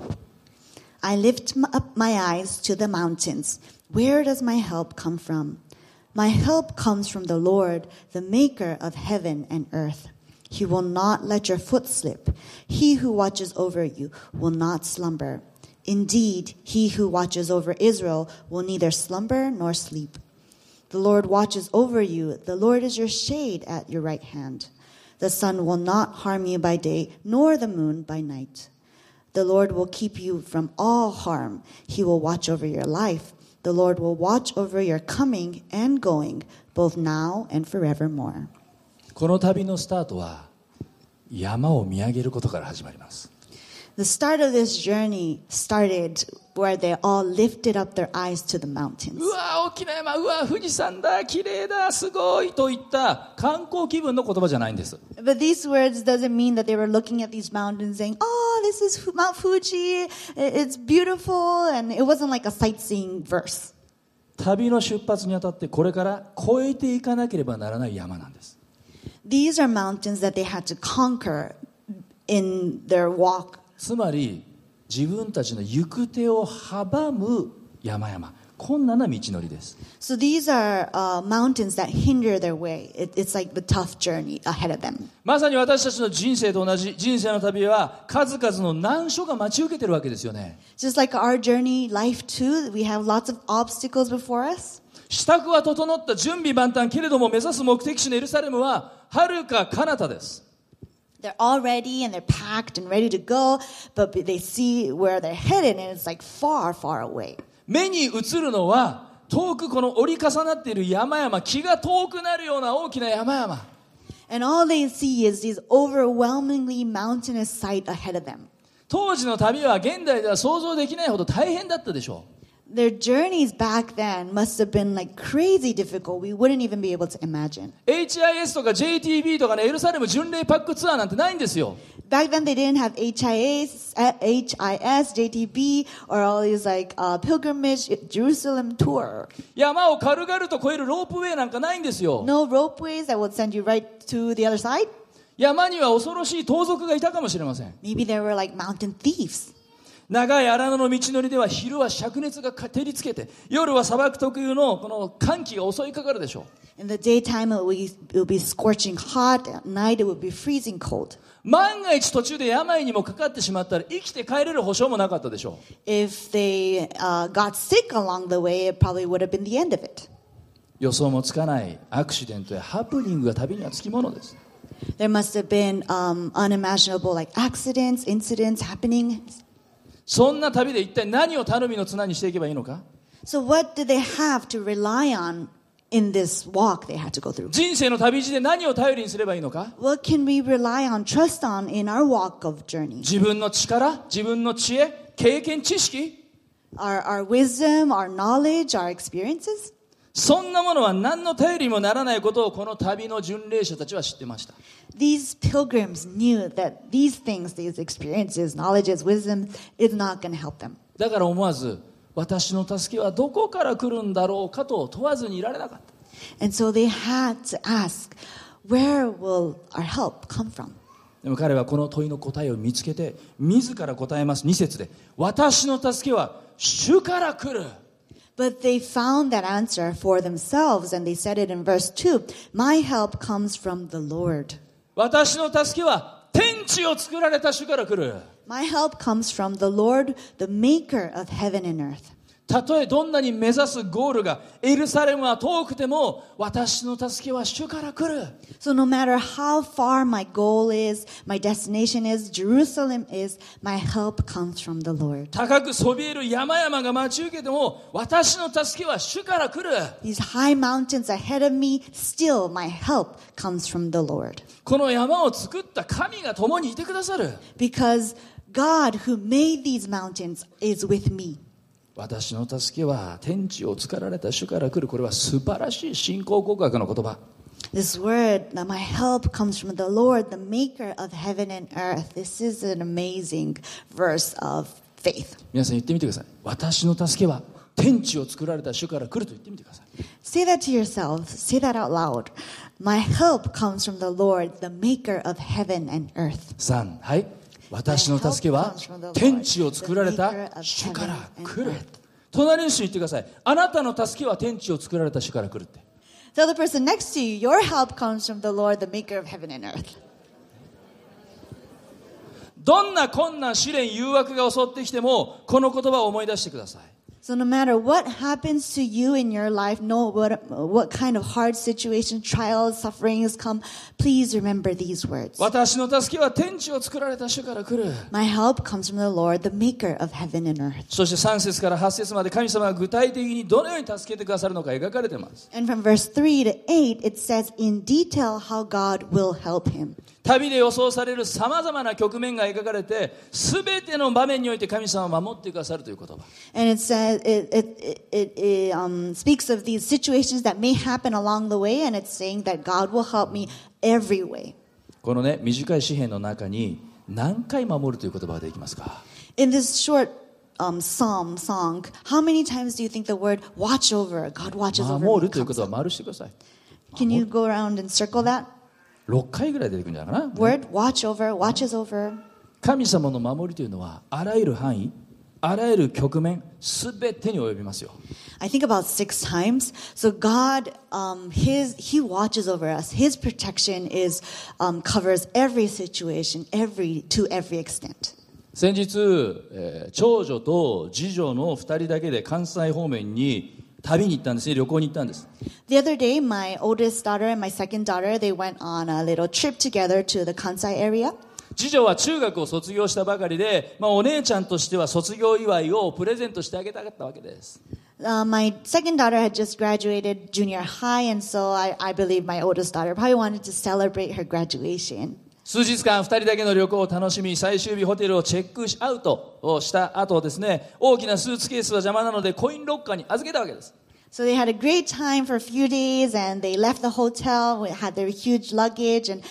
I lift up my eyes to the mountains. Where does my help come from? My help comes from the Lord, the maker of heaven and earth. He will not let your foot slip. He who watches over you will not slumber. Indeed, he who watches over Israel will neither slumber nor sleep. The Lord watches over you. The Lord is your shade at your right hand. The sun will not harm you by day, nor the moon by night. The Lord will keep you from all harm. He will watch over your life. The Lord will watch over your coming and going, both now and forevermore.
この旅のスタートは山を見上げることから始まります。
The start of this journey started where they all lifted up their eyes to the mountains.
うわ大きな山、うわ富士山だ、綺麗だ、すごいといった観光気分の言葉じゃないんです。
But these words doesn't mean that they were looking at these mountains saying, oh, this is Mount Fuji, it's beautiful, and it wasn't like a sightseeing verse.
旅の出発にあたってこれから越えていかなければならない山なんです。
These are mountains that they had to conquer in their walk.
つまり自分たちの行く手を阻む山々、困難な道のりです。
So these are mountains that hinder their way. It's like the tough journey ahead of them.
まさに私たちの人生と同じ人生の旅は数々の難所が待ち受けてるわけですよね。
Just like our journey, life too, we have lots of obstacles before us.
支度は整った準備万端けれども目指す目的地のエルサレムは遥か彼方です。
They're all ready and they're packed and ready to go, but they see where they're headed and it's like far, far away.
目に映るのは遠くこの折り重なっている山々、気が遠くなるような大きな山々。
And all they see is these overwhelmingly mountainous sight ahead of them.
当時の旅は現代では想像できないほど大変だったでしょう。
Their journeys back then must have been like crazy difficult. We wouldn't even be able to imagine.
HIS とか JTB とかね、エルサレム巡礼パックツアーなんてないんですよ。
Back then they didn't have HIS, JTB, or all these like pilgrimage Jerusalem tour.
山を軽々と越えるロープウェイなんかないんですよ。
No ropeways that would send you right to the other side.
山には恐ろしい盗賊がいたかもしれません。
Maybe there were like mountain thieves.
長い荒野の道のりでは昼は灼熱が照りつけて、夜は砂漠特有のこの寒気が襲いかかるでしょう。
In the daytime it would be scorching hot. At night it would be freezing cold.
万が一途中で病にもかかってしまったら生きて帰れる保証もなかったでしょう。
If they got sick along the way, it probably would have been the end of it.
予想もつかないアクシデントやハプニングが旅にはつきものです。
There must have been unimaginable like accidents, incidents happening.
そんな旅で一体何を頼みの綱にしていけばいいのか。
So what did they have to rely on in this walk they had to go through?
人生の旅路で何を頼りにすればいいのか。
What can we rely on, trust on in our walk of journey?
自分の力、自分の知恵、経験、知識、
Our wisdom, our knowledge, our experiences?
そんなものは何の頼りにもならないことをこの旅の巡礼者たちは知ってました。
These pilgrims knew that these things, these experiences, knowledges, wisdom is not going to help them.
だから思わず私の助けはどこから来るんだろうかと問わずにいられなかった。
And so they had to ask, where will our help come from?
でも彼はこの問いの答えを見つけて自ら答えます。2節で私の助けは主から来る。
But they found that answer for themselves, and they said it in verse 2, my help comes from the Lord.
私の助けは天地を作られた主から来る。
My help comes from the Lord, the maker of heaven and earth.
たとえどんなに目指すゴールがエルサレムは遠くても私の助けは主から来る。
So no matter how far my goal is, my destination is, Jerusalem is, my help comes from the Lord.
高くそびえる山々が待ち受けても私の助けは主から来る。
These high mountains ahead of me, still my help comes from the Lord.
この山を作った神が共にいてくださる。
Because God who made these mountains is with me.
私の助けは天地を作られた主から来る。これは素晴らしい信仰告白の言葉。
This word, that my help comes from the Lord, the maker of heaven and earth. This is an amazing verse of faith.
皆さん言ってみてください。私の助けは天地を作られた主から来ると言ってみてください。
Say that to yourself. Say that out loud. My help comes from the Lord, the maker of heaven and earth.
3、はい。私の助けは天地を作られた主から来る。隣の人に言ってください。あなたの助けは天地を作られた主から来るって。
Tell the person next to you, your help comes from the Lord, the maker of heaven and earth.
どんな困難、試練、誘惑が襲ってきてもこの言葉を思い出してください。
So no matter what happens to you in your life, no what kind of hard situations, trials, sufferings come, please remember these words.
私の助けは天地を作られた主から来る。
My help comes from the Lord, the maker of heaven and earth.
そして3節から8節まで神様が具体的にどのように助けてくださるのか描かれています。
And from verse 3 to 8, it says in detail how God will help him.
旅で予想されるさまざまな局面が描かれて、すべての場面において神様を守ってくださるという言葉。
And it says it speaks of these situations that may happen along the way, and it's saying that God will help me every way.
このね、短い詩篇の中に何回守るという言葉ができますか？
In this short song, how many times do you think the word watch over, God watches over
守
me
るという言
comes
葉
up?
丸してください。
Can you go around and circle that?
6回ぐらい出てくるんじゃないかな。
Word watch over, watches over.
神様の守りというのはあらゆる範囲、あらゆる局面、すべてに及びますよ。
I think about 6 times. So God, He watches over us. His protection is covers every situation, to every extent.
先日、長女と次女の2人だけで関西方面に旅に行ったんですね。旅行に行ったんです。
The other day, my oldest daughter and my second daughter, they went on a little trip together to the Kansai area.
次女は中学を卒業したばかりで、お姉ちゃんとしては卒業祝いをプレゼントしてあげたかったわけです。
My second daughter had just graduated junior high, and so I believe my oldest daughter probably wanted to celebrate her graduation.
数日間2人だけの旅行を楽しみ、最終日ホテルをチェックアウトをした後ですね、大きなスーツケースは邪魔なのでコインロッカーに預けたわけです。
So they had a great time for a few days, and they left the hotel, had their huge luggage, and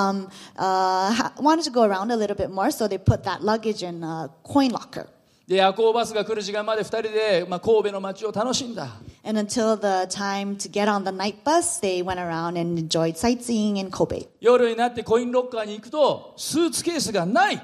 wanted to go around a little bit more, so they put that luggage in a coin locker.
で夜行バスが来る時間まで2人で、神戸の街を楽しんだ。
And until the time to get on the night bus, they went around and enjoyed sightseeing in Kobe.
夜になってコインロッカーに行くとスーツケースがない。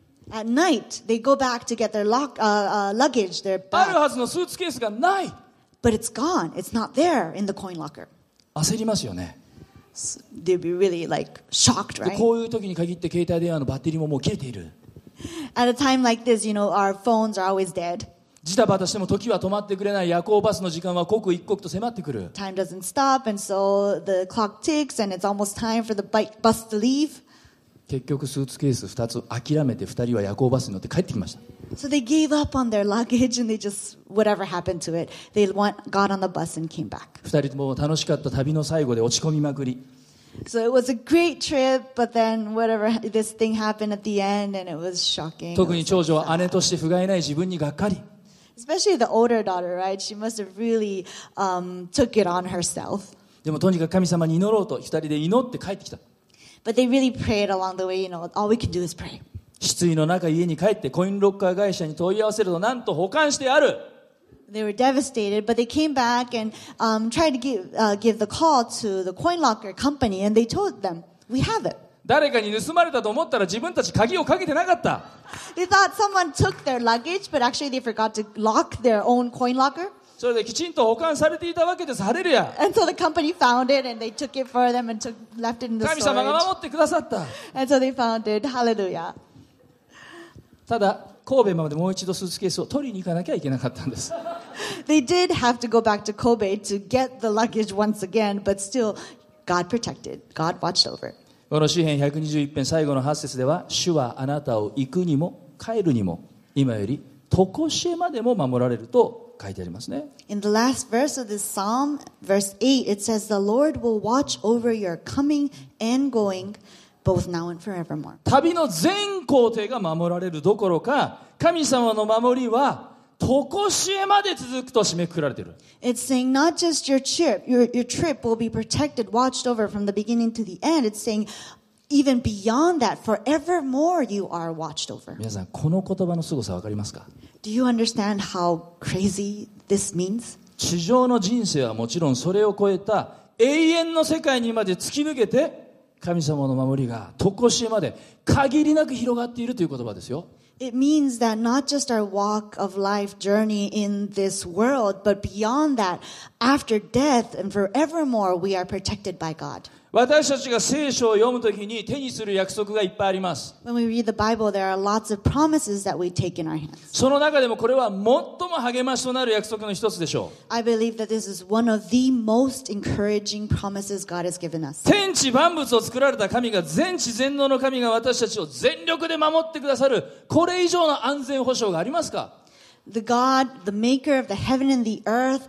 At night, they go back to get their luggage, their
ある
bag,
はずのスーツケースがない。
but it's gone. It's not there in the coin locker.
焦りますよね。
So they'd be really like shocked,
で
right?
こういう時に限って携帯電話のバッテリーももう切れている。
At a time like this, our phones are always dead.
ジタバタしても時は止まってくれない。夜行バスの時間は刻一刻と迫ってくる。
Time doesn't stop, and so the clock ticks, and it's almost time for the bus to leave.
結局スーツケース2つ諦めて2人は夜行バスに乗って帰ってきました。
So they gave up on their luggage, and they just, whatever happened to it, they got on the bus and came back.
2人とも楽しかった旅の最後で落ち込みまくり。
So it was a great trip, but then this thing happened at the end, and it was shocking.
特に長女は姉として不甲斐ない自分にがっかり。
Especially the older daughter, right? She must have really took it on herself.
でもとにかく神様に祈ろうと2人で祈って帰ってきた。
But they really prayed along the way, all we can do is pray.
失意の中家に帰ってコインロッカー会社に問い合わせるとなんと保管してある。
They were devastated, but they came back and tried to give the call to the coin locker company, and they told them, we have it.
誰かに盗まれたと思ったら自分たち鍵をかけてなかった。
They thought someone took their luggage, but actually they forgot to lock their own coin locker.
それできちんと保管されていたわけです。ハレルヤ。
And so the company found it, and they took it for them and left it in the
神様が
storage.
守ってくださった。
And so they found it. Hallelujah.
ただ神戸までもう一度スーツケースを取りに行かなきゃいけなかったんです。
They did have to go back to Kobe to get the luggage once again, but still, God protected. God watched over.
この詩編121編最後の8節では、主はあなたを行くにも帰るにも今より常しえまでも守られると書いてありますね。
In the last verse of this psalm, verse 8, it says, The Lord will watch over your coming and going, both now and forevermore.
旅の全行程が守られるどころか、神様の守りは常しえまで続くと締めくくられている。
It's saying not just your trip will be protected, watched over from the beginning to the end. It's saying even beyond that, forevermore you are watched over.
皆さんこの言葉の凄さ分かりますか？
Do you understand how crazy this means?
地上の人生はもちろんそれを超えた永遠の世界にまで突き抜けて神様の守りが常しえまで限りなく広がっているという言葉ですよ。
It means that not just our walk of life journey in this world, but beyond that, after death and forevermore, we are protected by God.
私たちが聖書を読むときに手にする約束がいっぱいあります。
When we read the Bible, there are lots of promises that we take in our hands.
その中でもこれは最も励ましとなる約束の一つでしょう。
I believe that this is one of the most encouraging promises God has given us.
天地万物を作られた神が、全知全能の神が私たちを全力で守ってくださる、これ以上の安全保障がありますか？
The God, the maker of the heaven and the earth,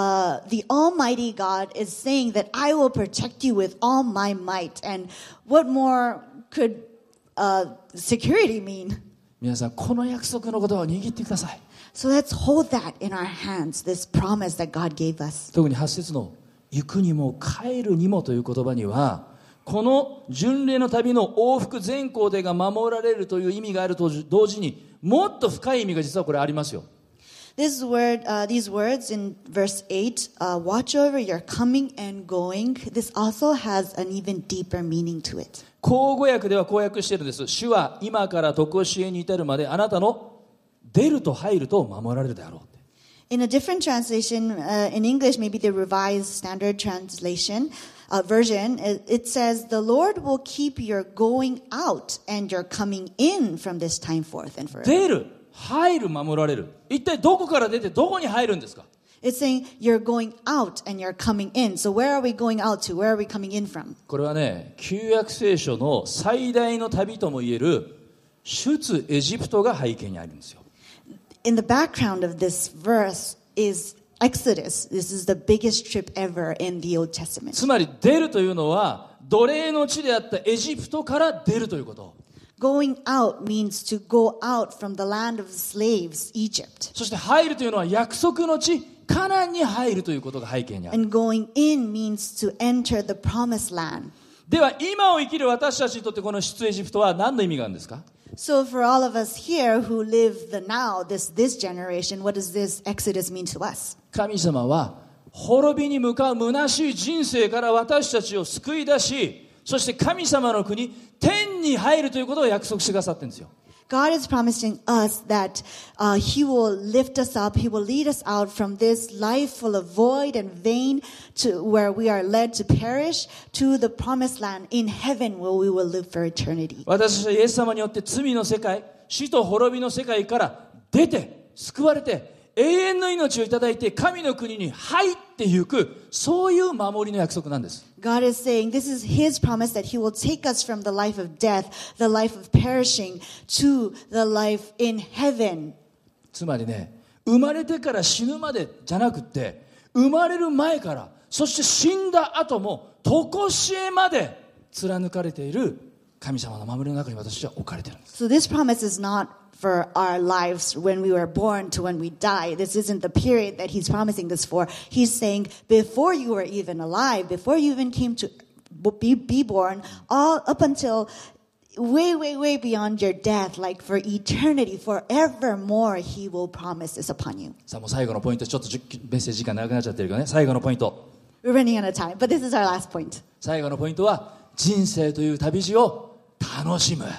the Almighty God is saying that I will protect you with all my might. And what more could security mean?
皆さんこの約束のことを握ってください。
So let's hold that in our hands, this promise that God gave us.
特に8節の行くにも帰るにもという言葉には、この巡礼の旅の往復全行程が守られるという意味があると同時に、もっと深い意味が実はこれありますよ。
These words in verse 8, watch over your coming and going, this also has an even deeper meaning to it.
口語訳ではこう訳しているんです。主は今から常しえに至るまであなたの出ると入ると守られるであろう。
In a different translation, in English, maybe the Revised Standard Translation version, it says, the Lord will keep your going out and your coming in from this time forth and forever.
出る、入る、守られる。一体どこから出てどこに入るんですか？
It's saying you're going out and you're coming in. So where are we going out to? Where are we coming in from?
これはね、旧約聖書の最大の旅ともいえる出エジプトが背景にあるんですよ。
In the background of this verse is Exodus. This is the biggest trip ever in the Old Testament.
つまり出るというのは奴隷の地であったエジプトから出るということ。
Going out means to go out from the land of slaves, Egypt.
そして入るというのは約束の地カナンに入るということが背景にある。
And going in means to enter the promised land.
では今を生きる私たちにとってこの出エジプトは何の意味があるんですか？
So for all of us here who live the now, this generation, what does this Exodus mean to us?
神様は滅びに向かう虚しい人生から私たちを救い出し、そして神様の国、天に入るということを約束してくださってるんですよ。
God is promising us that He will lift us up, He will lead us out from this life full of void and vain to where we are led to perish to the promised land in heaven where we will live for eternity.
私たちはイエス様によって罪の世界、死と滅びの世界から出て、救われて、永遠の命をいただいて神の国に入っていく、そういう守りの約束なんです。
God is saying this is His promise that He will take us from the life of death, the life of perishing, to the life in heaven.
つまりね、生まれてから死ぬまでじゃなくて、生まれる前から、そして死んだ後も常しえまで貫かれている神様の守りの中に私たちは置かれているんです。
So this promise is not for our lives when we were born to when we die. This isn't the period that He's promising this for. He's saying before you were even alive, before you even came to be born, all up until way beyond your death, like for eternity, forevermore, He will promise this upon you.
さあもう最後のポイント、ちょっとメッセージ時間長くなっちゃってるけどね、最後のポイント。
We're running out of time, but this is our last point.
最後のポイントは、人生という旅路を楽しむ。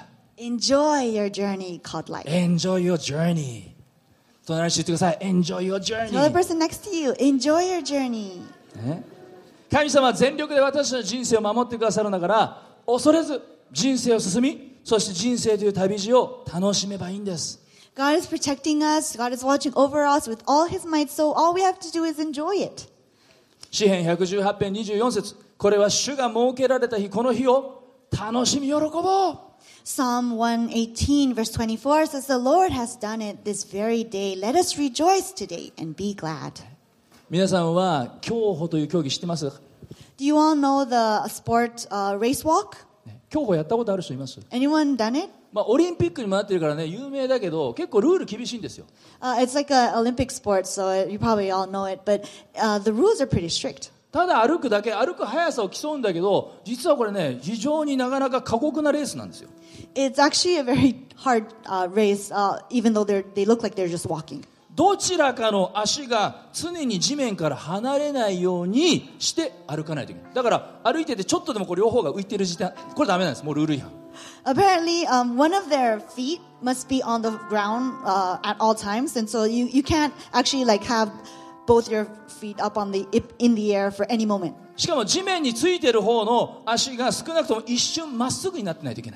Enjoy your journey called life.
Enjoy your journey. 隣に言ってください。Enjoy your journey.
Tell the person next to you, enjoy your journey.
ね、神様は全力で私たちの人生を守ってくださるんだから、恐れず人生を進み、そして人生という旅路を楽しめばいいんです。
God is protecting us. God is watching over us with all His might. So all we have to do is enjoy it.
詩編118編24節、これは主が設けられた日、この日を楽しみ喜ぼう。
Psalm 118 verse 24 says, The Lord has done it this very day. Let us rejoice today and be glad.
皆さんは競歩という競技知ってます？
Do you all know the sport race walk?
競歩やったことある人います？
Anyone done it?
オリンピックにもなってるからね、有名だけど結構ルール厳しいんですよ。
It's like an Olympic sport, so you probably all know it. But the rules are pretty strict.
ただ歩くだけ、歩く速さを競うんだけど、実はこれね、非常になかなか過酷なレースなんですよ。
It's actually a very hard race, even though they look like they're just walking.
どちらかの足が常に地面から離れないようにして歩かないといけない。だから歩いててちょっとでも両方が浮いてる時点、これダメなんです。もうルール違反。
Apparently, one of their feet must be on the ground at all times, and so you can't actually like have both your feet up in the air for any moment.
しかも地面についてる方の足が少なくとも一瞬まっすぐになってないといけない。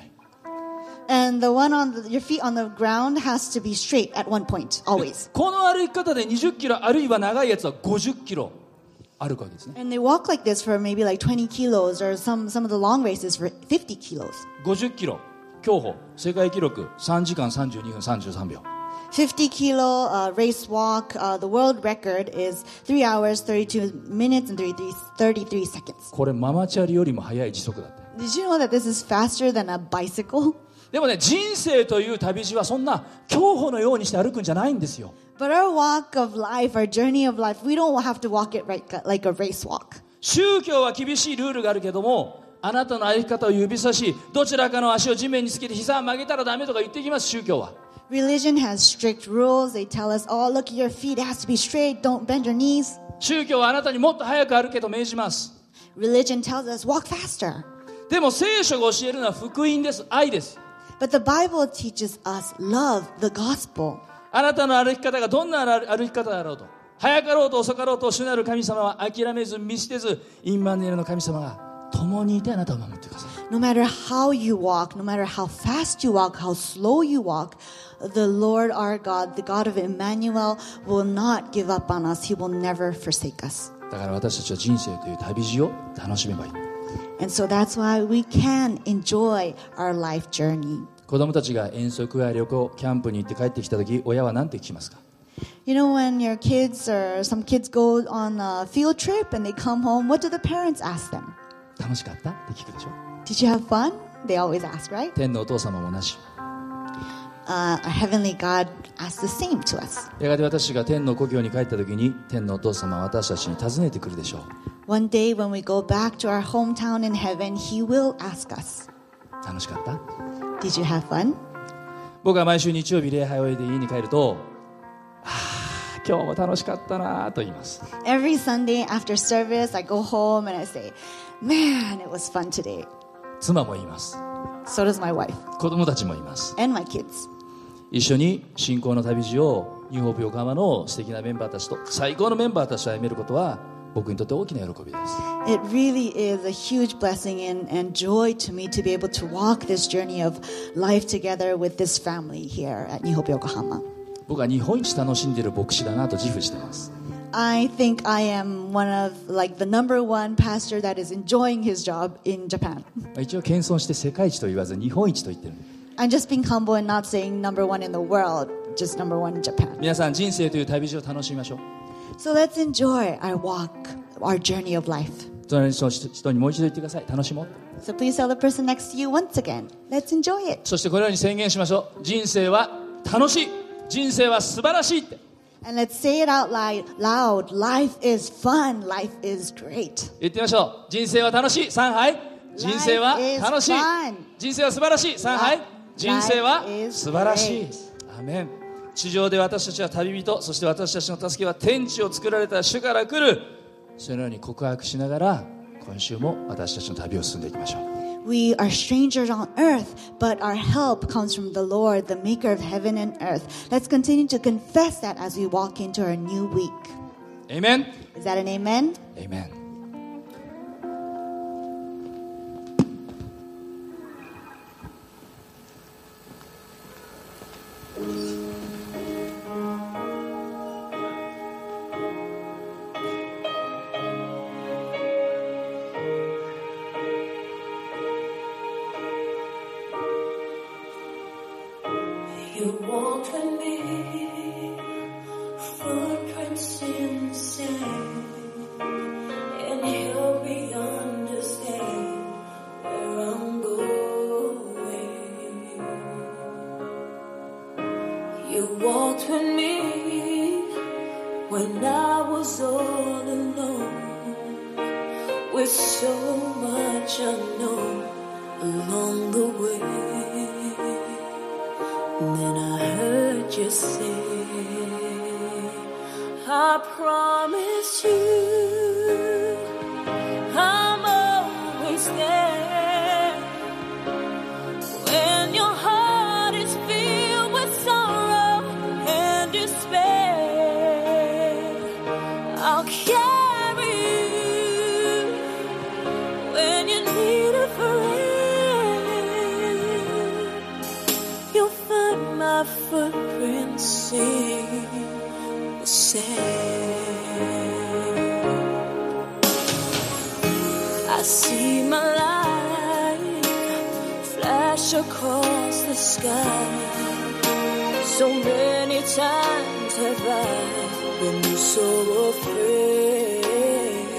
And the one on your feet on the ground has to be straight at one point, always.
この歩き方で20キロあるいは長いやつは50キロ歩くわけですね。
And they walk like this for maybe like 20 kilos or some of the long races for 50 kilos.
50キロ競歩世界記録3時間32分33秒。
50 kilo race walk, the world record is 3 hours, 32 minutes, and 33 seconds.
これママチャリよりも速い時速だって。
Did you know that this is faster than a bicycle?
でもね、人生という旅路はそんな競歩のようにして歩くんじゃないんですよ。
But our walk of life, our journey of life, we don't have to walk it like a race walk.
宗教は厳しいルールがあるけども、あなたの歩き方を指さし、どちらかの足を地面につけて膝を曲げたらダメとか言ってきます。宗教は。
Religion has strict rules. They tell us, oh, look at your feet. It has to be straight. Don't bend your knees.
宗教はあなたにもっと早く歩けと命じます。
Religion tells us, walk faster.
でも聖書が教えるのは福音です。愛です。
But the Bible teaches us love, the gospel.
あなたの歩き方がどんな歩き方だろうと、早かろうと遅かろうと主なる神様は諦めず見捨てず、インマヌエルの神様が共にいてあなたを守ってください。
No matter how you walk, no matter how fast you walk, how slow you walk, the Lord our God, the God of Emmanuel, will not give up on us. He will never forsake us.
だから私たちは人生という旅路を楽しめばいい。
And so that's why we can enjoy our life journey.
子供たちが遠足や旅行、キャンプに行って帰ってきたとき、親は何て聞きますか？
You know, when your kids or some kids go on a field trip and they come home, what do the parents ask them?
楽しかったって聞くでしょ。
Did you have fun? They always ask, right?
天のお父様もなし。
our Heavenly God asks the same to us.
やがて私が天の故郷に帰った時に天のお父様は私たちに尋ねてくるでしょう。
One day when we go back to our hometown in heaven, He will ask us,
楽しかった？
Did you have fun?
僕は毎週日曜日礼拝を終えて家に帰ると、今日も楽しかったなと言います。
Every Sunday after service, I go home and I say, Man, it was fun today.
妻も言います。
So does my wife
子供たちも言います。
and my kids.
一緒に信仰の旅路をニューホープ横浜の素敵なメンバーたちと、最高のメンバーたちと歩めることは僕にとって大きな喜びです。
It really is a huge blessing and joy to me to be able to walk this journey of life together with this family here at New Hope Yokohama.
僕は日本一楽しんでいる牧師だなと自負しています。
I think I am one of like the number one pastor that is enjoying his job in Japan.
一応謙遜して世界一と言わず日本一と言ってる。
I'm just being humble and not saying number one in the world, just number one in Japan.
皆さん人生という旅路を楽しみましょう。
So let's enjoy our walk, our journey of life.
隣の人にもう一度言ってください。楽しもう。
So please tell the person next to you once again, let's enjoy it.
そしてこのように宣言しましょう。人生は楽しい。人生は素晴らしいって。
And let's say it out loud. Life is fun. Life is great.
言ってみましょう。人生は楽しい。3杯。人生は楽しい。
fun.
人生は素晴らしい。3杯。人生は
Life is
素晴らしい
great.。
アーメン。地上で私たちは旅人、そして私たちの助けは天地を作られた主から来る。そのように告白しながら、今週も私たちの旅を進んでいきましょう。
We are strangers on earth, but our help comes from the Lord, the maker of heaven and earth. Let's continue to confess that as we walk into our new week.
Amen.
Is that an amen?
Amen.
You walked with me, footprints in the sand, and help me understand where I'm going. You walked with me when I was all alone, with so much unknown along the way. And then I heard you say, I promise you I'm always there. When your heart is filled with sorrow and despair, I'll carry you when you need a friend. You'll find my footprints in the sand. I see my light flash across the sky. So many times have I been so afraid.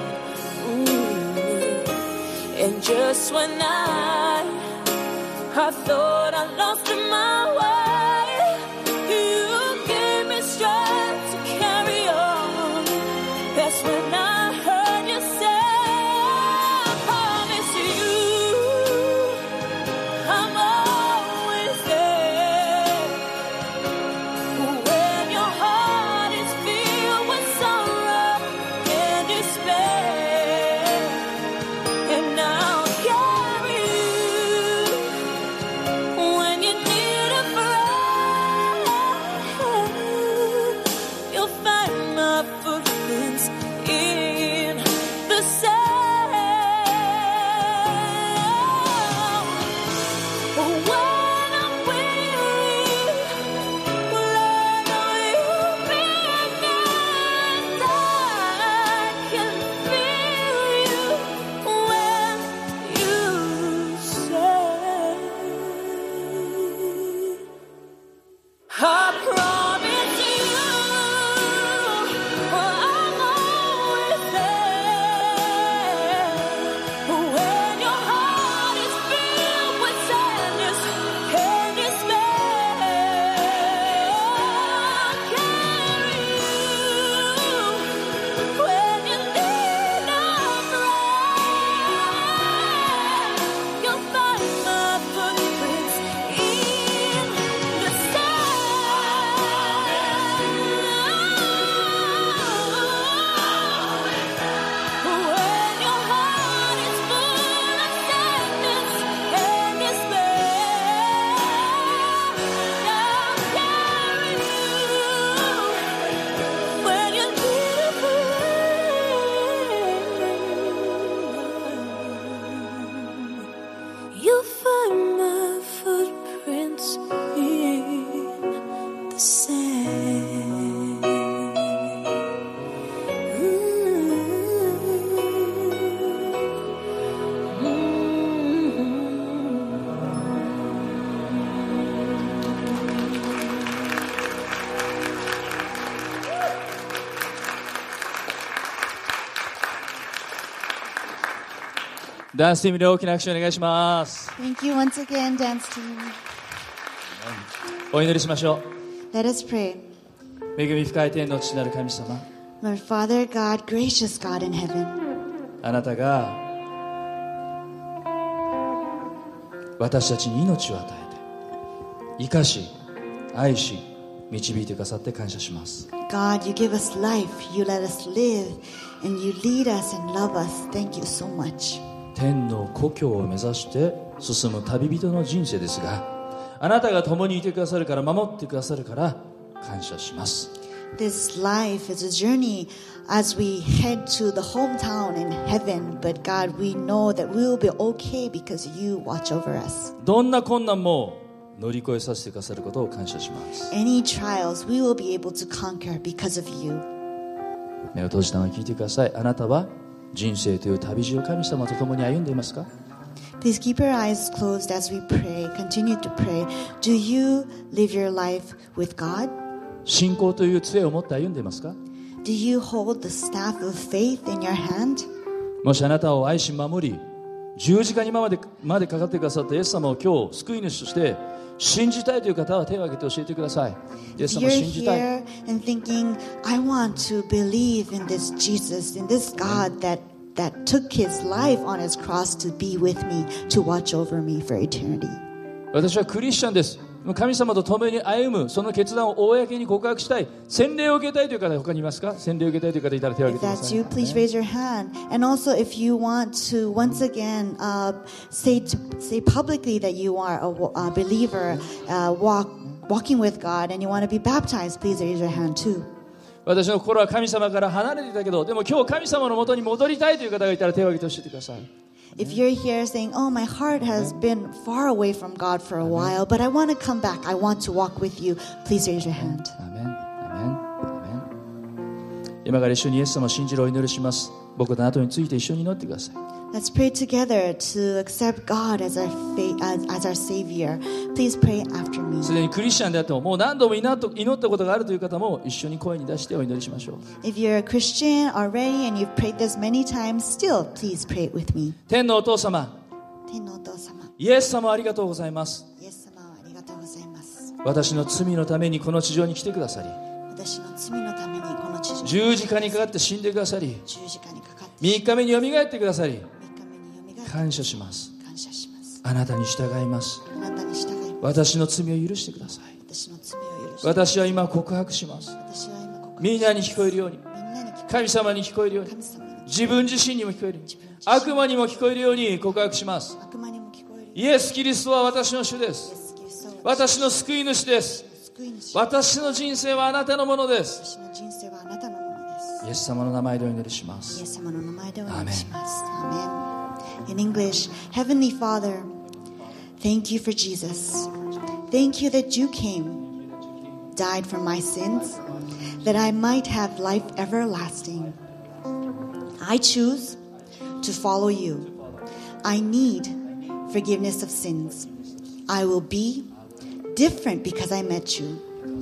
And just when I thought I lost my way, you gave me strength to carry on. That's when I heard you say, I promise you I'm always there. When your heart is filled with sorrow and despair, and I'll carry you when you need a
ダンスチームで大きな拍手をお願いします。
Thank you once again, dance team.
お祈りしましょう。
Let us pray.
恵み深い天の父なる神様、
Lord Father God, gracious God in heaven,
あなたが私たちに命を与えて生かし愛し導いてくださって感謝します。
God, you give us life, you let us live, and you lead us and love us. Thank you so much.
天の故郷を目指して進む旅人の人生ですが、あなたが共にいてくださるから、守ってくださるから感謝します。
This life is a journey as we head to the hometown in heaven, but God, we know that we will be okay because you watch over us.
どんな困難も乗り越えさせてくださることを感謝します。
Any trials, we will be able to conquer because of you.
目を閉じたまま聞いてください。あなたは人生という旅路を神様と共に歩んでいますか？
Please keep your eyes closed as we pray. Continue to pray. Do you live your life with God?
信仰という杖を持って歩んでいますか？
Do you hold the staff of faith in your hand?
もしあなたを愛し守り十字架にまでかかってくださったイエス様を今日救い主として信じたいという方は手を挙げて教えてください。イエス
If
様を
you're
信じたい。
here and thinking, I want to believe in this Jesus, in this God that took his life on his cross to be with me, to watch over me for eternity.
私はクリスチャンです。神様と共に歩むその決断を公に告白したい、洗礼を受けたいという方他にいますか？洗礼を受けたいという方いたら手を挙
If
げてくだ
that's
さい。
you, please raise your hand. And also, if you want to once again say publicly that you are a believer, walking with God, and you want to be baptized, please raise your hand too.
私の心は神様から離れていたけど、でも今日神様の元に戻りたいという方がいたら手を挙げて教えてください。
If you're here saying, oh, my heart has been far away from God for a while, but I want to come back, I want to walk with you, please raise your hand.
アメン、アメン、アメン。今から一緒にイエス様を信じるお祈りします。僕とあなたについて一緒に祈ってください。
Let's pray together to accept God as our Savior. Please pray after me.
すでにクリスチャンであっても、もう何度も祈ったことがあるという方も一緒に声に出してお祈りしましょう。
If you're a Christian already and you've prayed this many times, still, please pray it with me.
天のお父様、
天のお父様、
イエス様ありがとうございます。
イエス様ありがとうございます。
私の罪のためにこの地上に来てくださり、
私の罪のためにこの地上に
十字架にかかって死んでくださり、
十字架にかかって
3日目によみがえってくださり、
3日目によみがえって
感謝します。
感謝します。
あなたに従います。
あなたに従います。
私の罪を許してください。
私の罪を許して。
私は今告白します。
私は今告白
みんなに聞こえるように、
みんなに聞こ
神様に聞こえるように、
神様に
自分自身にも聞こえるように、悪魔にも聞こえるように告白します。
悪魔にも聞こえる。
イエス・キリストは私の主で
イエ
す。
スキリストは
私の救い主です。
救い主。
私の人生はあなたのものです。
私の人生はあなたのものです。
イエス様の名前でお祈りしま
イエ
す。
ス様の名前でお願いします。Amen. In English, Heavenly Father, thank you for Jesus. Thank you that you came, died for my sins, that I might have life everlasting. I choose to follow you. I need forgiveness of sins. I will be different because I met you.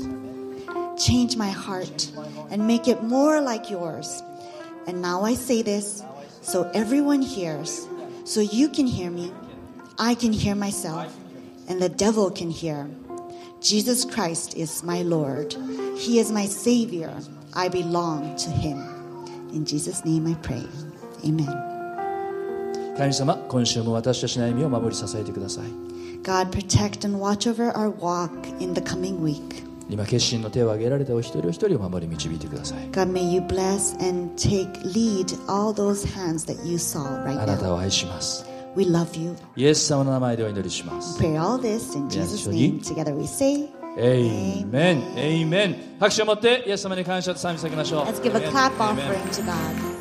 Change my heart and make it more like yours. And now I say this so everyone hears, so you can hear me, I can hear myself, and the devil can hear. Jesus Christ is my Lord. He is my Savior. I belong to Him. In Jesus' name I pray. Amen.
神様、今週も私たちの歩みを守り支えてください。
God, protect and watch over our walk in the coming week.
今決心の手を挙げられたお一人お一人を守り導いてください。
God, may you bless and lead all those hands that you saw right
あなた
now.
を愛します。
We love you.
イエス様の名前でお祈りします。
Pray all this in Jesus' name. Together we say,
エイメン、エイメン。拍手を持ってイエス様に感謝と賛美させましょう。
let's give a clap
Amen.
offering to God.